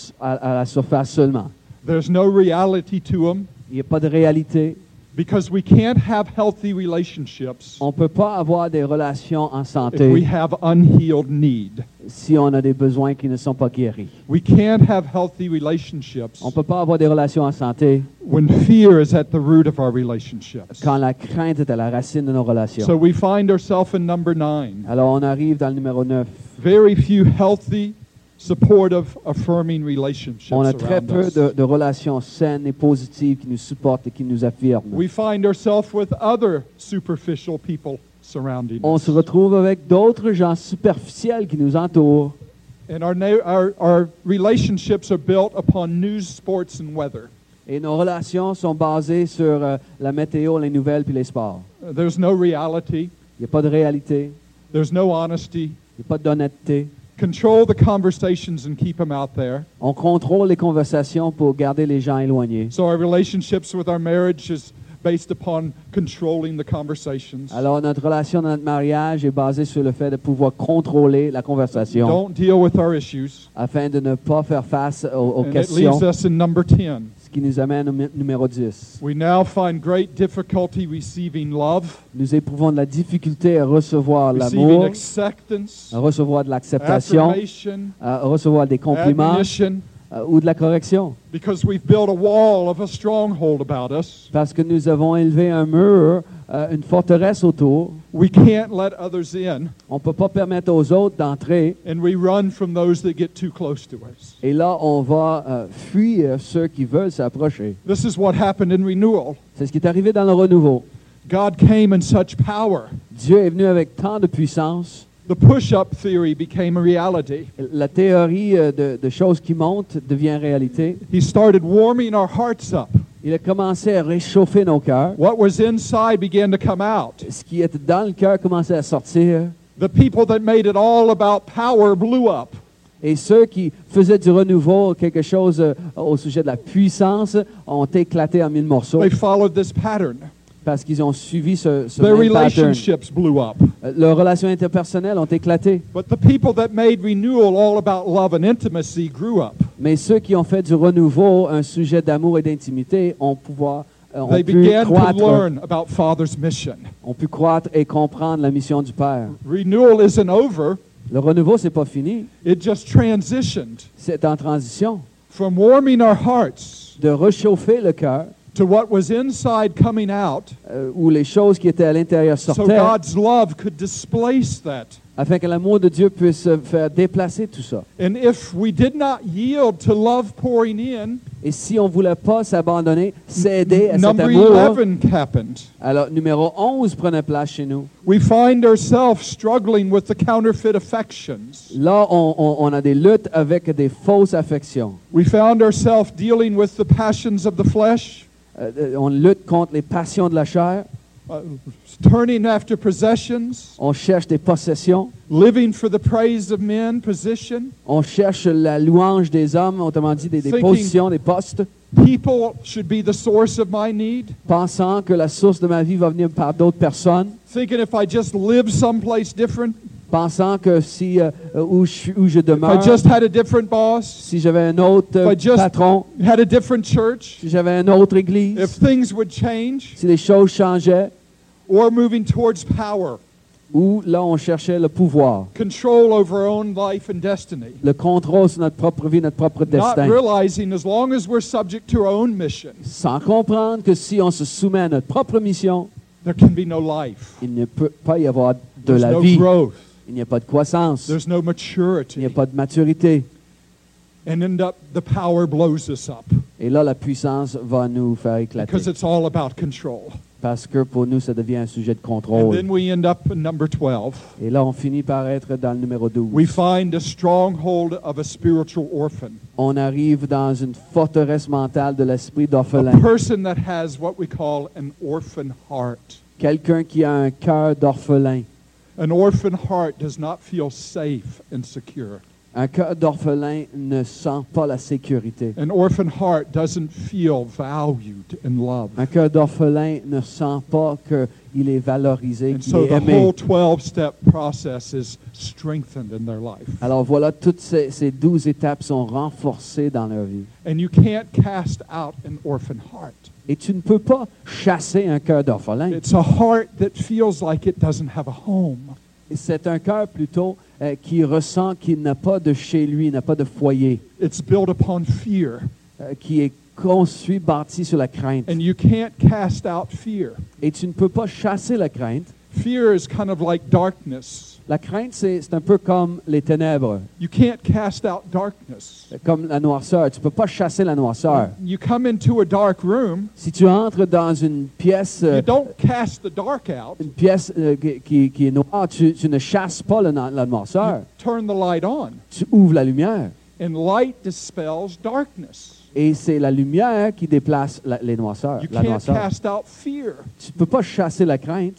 Speaker 2: à la surface seulement.
Speaker 1: There's no reality to them
Speaker 2: Il n'y a pas de réalité.
Speaker 1: because we can't have healthy relationships
Speaker 2: On ne peut pas avoir des relations en
Speaker 1: if we
Speaker 2: santé
Speaker 1: have unhealed need.
Speaker 2: si on a des besoins qui ne sont pas guéris.
Speaker 1: We can't have healthy relationships
Speaker 2: On ne peut pas avoir des relations en santé
Speaker 1: when fear is at the root of our relationships.
Speaker 2: quand la crainte est à la racine de nos relations.
Speaker 1: So we find ourselves in number 9.
Speaker 2: Alors, on arrive dans le numéro 9.
Speaker 1: Very few healthy, supportive, affirming relationships
Speaker 2: On a très
Speaker 1: around
Speaker 2: peu
Speaker 1: us.
Speaker 2: de relations saines et positives qui nous supportent et qui nous affirment.
Speaker 1: We find ourselves with other superficial people surrounding
Speaker 2: On
Speaker 1: us.
Speaker 2: se retrouve avec d'autres gens superficiels qui nous entourent.
Speaker 1: And our relationships are built upon news, sports, and weather.
Speaker 2: Et nos relations sont basées sur la météo, les nouvelles puis les sports.
Speaker 1: There's no reality.
Speaker 2: Il n'y a pas de réalité,
Speaker 1: There's no honesty.
Speaker 2: il n'y a pas d'honnêteté.
Speaker 1: Control the conversations and keep them out there.
Speaker 2: On contrôle les conversations pour garder les gens éloignés.
Speaker 1: So our relationships with our marriage is based upon controlling the conversations.
Speaker 2: Alors notre relation dans notre mariage est basée sur le fait de pouvoir contrôler la conversation
Speaker 1: Don't deal with our issues.
Speaker 2: afin de ne pas faire face aux
Speaker 1: And it
Speaker 2: questions,
Speaker 1: leaves us in number 10.
Speaker 2: ce qui nous amène au numéro 10.
Speaker 1: We now find great difficulty receiving love,
Speaker 2: Nous éprouvons de la difficulté à recevoir
Speaker 1: receiving
Speaker 2: l'amour,
Speaker 1: acceptance,
Speaker 2: à recevoir de l'acceptation,
Speaker 1: affirmation,
Speaker 2: à recevoir des compliments
Speaker 1: admonition,
Speaker 2: ou de la correction.
Speaker 1: because we've built a wall of a stronghold about us.
Speaker 2: Parce que nous avons élevé un mur, une forteresse autour.
Speaker 1: We can't let others in,
Speaker 2: On ne peut pas permettre aux autres d'entrer.
Speaker 1: and we run from those that get too close to us.
Speaker 2: Et là, on va fuir ceux qui veulent s'approcher.
Speaker 1: This is what happened in renewal.
Speaker 2: C'est ce qui est arrivé dans le renouveau.
Speaker 1: God came in such power.
Speaker 2: Dieu est venu avec tant de puissance.
Speaker 1: The push-up theory became a reality.
Speaker 2: La théorie de choses qui montent devient réalité.
Speaker 1: He started warming our hearts up.
Speaker 2: Il a commencé à réchauffer nos cœurs.
Speaker 1: What was inside began to come out.
Speaker 2: Ce qui était dans le cœur commençait à sortir.
Speaker 1: The people that made it all about power blew up.
Speaker 2: Et ceux qui faisaient du renouveau, quelque chose au sujet de la puissance, ont éclaté en mille morceaux
Speaker 1: They followed this pattern.
Speaker 2: parce qu'ils ont suivi ce
Speaker 1: Their
Speaker 2: même pattern.
Speaker 1: relationships blew up.
Speaker 2: Leurs relations interpersonnelles ont éclaté.
Speaker 1: But the people that made renewal all about love and intimacy grew up.
Speaker 2: Mais ceux qui ont fait du renouveau un sujet d'amour et d'intimité ont
Speaker 1: They
Speaker 2: pu
Speaker 1: began to
Speaker 2: croître,
Speaker 1: learn about Father's mission.
Speaker 2: ont pu croître et comprendre la mission du Père.
Speaker 1: Renewal isn't over.
Speaker 2: Le renouveau, c'est pas fini.
Speaker 1: It just transitioned
Speaker 2: C'est en transition
Speaker 1: from warming our hearts
Speaker 2: de réchauffer le cœur
Speaker 1: to what was inside coming out
Speaker 2: où les choses qui étaient à l'intérieur
Speaker 1: so
Speaker 2: sortaient
Speaker 1: God's love could displace that.
Speaker 2: afin que l'amour de Dieu puisse faire déplacer tout ça.
Speaker 1: And if we did not yield to love pouring in,
Speaker 2: Et si on ne voulait pas s'abandonner, céder à cet
Speaker 1: number
Speaker 2: amour,
Speaker 1: 11 happened.
Speaker 2: alors numéro 11 prenait place chez nous.
Speaker 1: We find ourselves struggling with the counterfeit affections.
Speaker 2: Là, on a des luttes avec des fausses affections.
Speaker 1: We found ourselves dealing with the passions of the flesh,
Speaker 2: On lutte contre les passions de la chair.
Speaker 1: turning after possessions,
Speaker 2: On cherche des possessions.
Speaker 1: living for the praise of men, position.
Speaker 2: On cherche la louange des hommes, autrement dit des
Speaker 1: Thinking-
Speaker 2: positions, des postes,
Speaker 1: People should be the source of my need.
Speaker 2: pensant que la source de ma vie va venir par d'autres personnes,
Speaker 1: Thinking if I just live someplace different,
Speaker 2: pensant que si où je
Speaker 1: if I
Speaker 2: demeure,
Speaker 1: just had a different boss,
Speaker 2: si j'avais un autre
Speaker 1: if I just
Speaker 2: patron,
Speaker 1: had a different church,
Speaker 2: si j'avais une autre église,
Speaker 1: if things would change,
Speaker 2: si les choses changeaient,
Speaker 1: or moving towards power,
Speaker 2: où là on cherchait le pouvoir,
Speaker 1: control over our own life and destiny.
Speaker 2: le contrôle sur notre propre vie, notre propre
Speaker 1: Not
Speaker 2: destin,
Speaker 1: realizing as long as we're subject to our own mission,
Speaker 2: sans comprendre que si on se soumet à notre propre mission,
Speaker 1: there can be no life.
Speaker 2: il ne peut pas y avoir de
Speaker 1: There's
Speaker 2: la
Speaker 1: no
Speaker 2: vie,
Speaker 1: growth.
Speaker 2: il n'y a pas de croissance,
Speaker 1: There's no
Speaker 2: il n'y a
Speaker 1: maturity.
Speaker 2: pas de maturité.
Speaker 1: And end up, the power blows us up
Speaker 2: Et là, la puissance va nous faire éclater.
Speaker 1: because it's all about control.
Speaker 2: Parce que pour nous, ça devient un sujet de
Speaker 1: And
Speaker 2: contrôle.
Speaker 1: then we end up in number 12.
Speaker 2: Et là, on finit par être dans le numéro 12.
Speaker 1: We find a stronghold of a spiritual orphan,
Speaker 2: On arrive dans une forteresse mentale de l'esprit
Speaker 1: a
Speaker 2: d'orphelin.
Speaker 1: person that has what we call an orphan heart.
Speaker 2: Quelqu'un qui a un cœur d'orphelin.
Speaker 1: An orphan heart does not feel safe and secure.
Speaker 2: Un cœur d'orphelin ne sent pas la sécurité.
Speaker 1: An orphan heart doesn't feel valued and loved.
Speaker 2: Un cœur d'orphelin ne sent pas qu'il est valorisé,
Speaker 1: And
Speaker 2: qu'il
Speaker 1: so
Speaker 2: est
Speaker 1: the
Speaker 2: aimé.
Speaker 1: whole 12-step process is strengthened in their life.
Speaker 2: Alors voilà, toutes ces 12 étapes sont renforcées dans leur vie.
Speaker 1: And you can't cast out an orphan heart.
Speaker 2: Et tu ne peux pas chasser un cœur d'orphelin.
Speaker 1: It's a heart that feels like it doesn't have a home.
Speaker 2: C'est un cœur plutôt qui ressent qu'il n'a pas de chez lui, n'a pas de foyer,
Speaker 1: It's built upon fear.
Speaker 2: qui est construit, bâti sur la crainte.
Speaker 1: And you can't cast out fear.
Speaker 2: Et tu ne peux pas chasser la crainte.
Speaker 1: Fear is kind of like darkness.
Speaker 2: La crainte, c'est un peu comme les ténèbres,
Speaker 1: You can't cast out darkness.
Speaker 2: comme la noirceur. Tu ne peux pas chasser la noirceur.
Speaker 1: You come into a dark room,
Speaker 2: Si tu entres dans une pièce,
Speaker 1: you don't cast the dark out.
Speaker 2: une pièce qui est noire, tu ne chasses pas la
Speaker 1: You
Speaker 2: noirceur.
Speaker 1: turn the light on.
Speaker 2: Tu ouvres la lumière.
Speaker 1: And light dispels darkness.
Speaker 2: Et c'est la lumière qui déplace les noirceurs,
Speaker 1: You
Speaker 2: la
Speaker 1: can't
Speaker 2: noirceur.
Speaker 1: cast out fear.
Speaker 2: Tu ne peux pas chasser la crainte.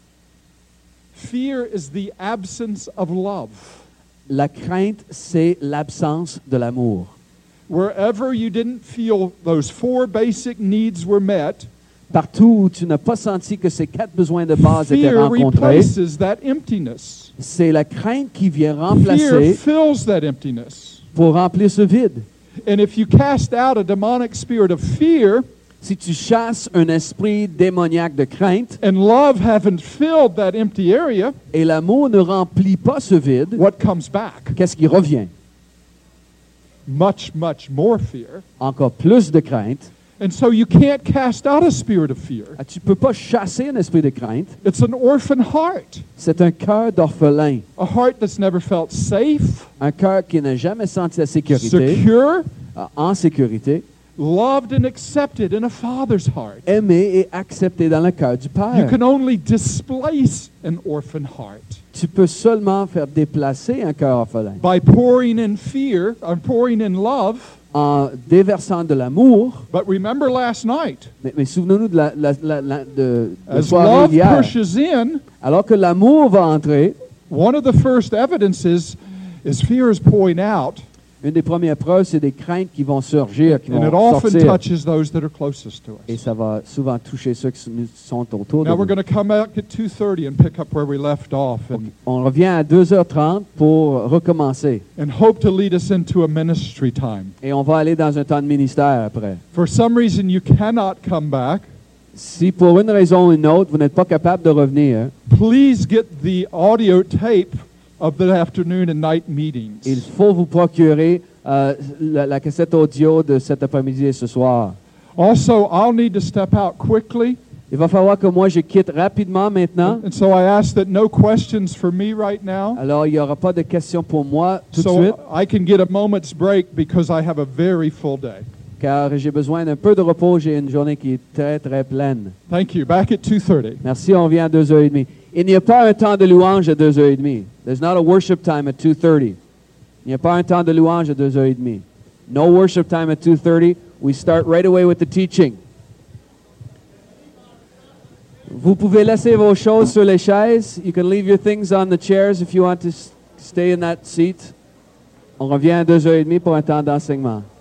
Speaker 1: Fear is the absence of love.
Speaker 2: La crainte, c'est l'absence de l'amour.
Speaker 1: Wherever you didn't feel those 4 basic needs were met,
Speaker 2: Partout où tu n'as pas senti que ces 4 besoins de base étaient
Speaker 1: fear
Speaker 2: rencontrés,
Speaker 1: replaces that emptiness.
Speaker 2: c'est la crainte qui vient
Speaker 1: Fear
Speaker 2: remplacer
Speaker 1: fills that emptiness.
Speaker 2: pour remplir ce vide.
Speaker 1: And if you cast out a demonic spirit of fear,
Speaker 2: Si tu chasses un esprit démoniaque de crainte
Speaker 1: and love haven't filled that empty area,
Speaker 2: et l'amour ne remplit pas ce vide,
Speaker 1: what comes back?
Speaker 2: qu'est-ce qui revient?
Speaker 1: Much, much more fear.
Speaker 2: Encore plus de crainte.
Speaker 1: And so you can't cast out a spirit of fear.
Speaker 2: Tu ne peux pas chasser un esprit de crainte.
Speaker 1: It's an orphan heart,
Speaker 2: C'est un cœur d'orphelin.
Speaker 1: a heart that's never felt safe,
Speaker 2: Un cœur qui n'a jamais senti la sécurité,
Speaker 1: secure,
Speaker 2: en sécurité,
Speaker 1: loved and accepted in a father's heart.
Speaker 2: Aimé et accepté dans le cœur du
Speaker 1: You
Speaker 2: Père.
Speaker 1: can only displace an orphan heart
Speaker 2: Tu peux seulement faire déplacer un cœur orphelin
Speaker 1: by pouring in fear, or pouring in love.
Speaker 2: en déversant de l'amour.
Speaker 1: But remember last night,
Speaker 2: Mais souvenons-nous de la
Speaker 1: as
Speaker 2: soirée
Speaker 1: love
Speaker 2: d'hier.
Speaker 1: pushes in,
Speaker 2: Alors que l'amour va entrer,
Speaker 1: one of the first evidences is fear is pouring out,
Speaker 2: une des premières preuves, c'est des craintes qui vont surgir, qui
Speaker 1: and it
Speaker 2: vont
Speaker 1: often
Speaker 2: sortir.
Speaker 1: touches those that are closest to
Speaker 2: Et
Speaker 1: us.
Speaker 2: ça va souvent toucher ceux qui nous sont autour de
Speaker 1: Now we're
Speaker 2: nous.
Speaker 1: going to come back at 2:30 and pick up where we left off,
Speaker 2: On revient à 2h30 pour recommencer.
Speaker 1: and hope to lead us into a ministry time.
Speaker 2: Et on va aller dans un temps de ministère après.
Speaker 1: For some reason you cannot come back,
Speaker 2: Si pour une raison ou une autre, vous n'êtes pas capable de revenir,
Speaker 1: please get the audio tape of the afternoon and night meetings.
Speaker 2: il faut vous procurer la cassette audio de cet après-midi et ce soir.
Speaker 1: Also, I'll need to step out quickly,
Speaker 2: Il va falloir que moi je quitte rapidement maintenant.
Speaker 1: and so I ask that no questions for me right now,
Speaker 2: Alors, il n'y aura pas de questions pour moi tout de
Speaker 1: so
Speaker 2: suite,
Speaker 1: I can get a moment's break because I have a very full day.
Speaker 2: car j'ai besoin d'un peu de repos. J'ai une journée qui est très, très pleine.
Speaker 1: Thank you. Back at 2:30.
Speaker 2: Merci, on vient à 2h30. Il n'y a pas un temps de louange à 2h30. There's not a worship time at 2:30. Il n'y a pas un temps de louange à 2h30. No worship time at 2:30. We start right away with the teaching. Vous pouvez laisser vos choses sur les chaises. You can leave your things on the chairs if you want to stay in that seat. On revient à 2h30 pour un temps d'enseignement.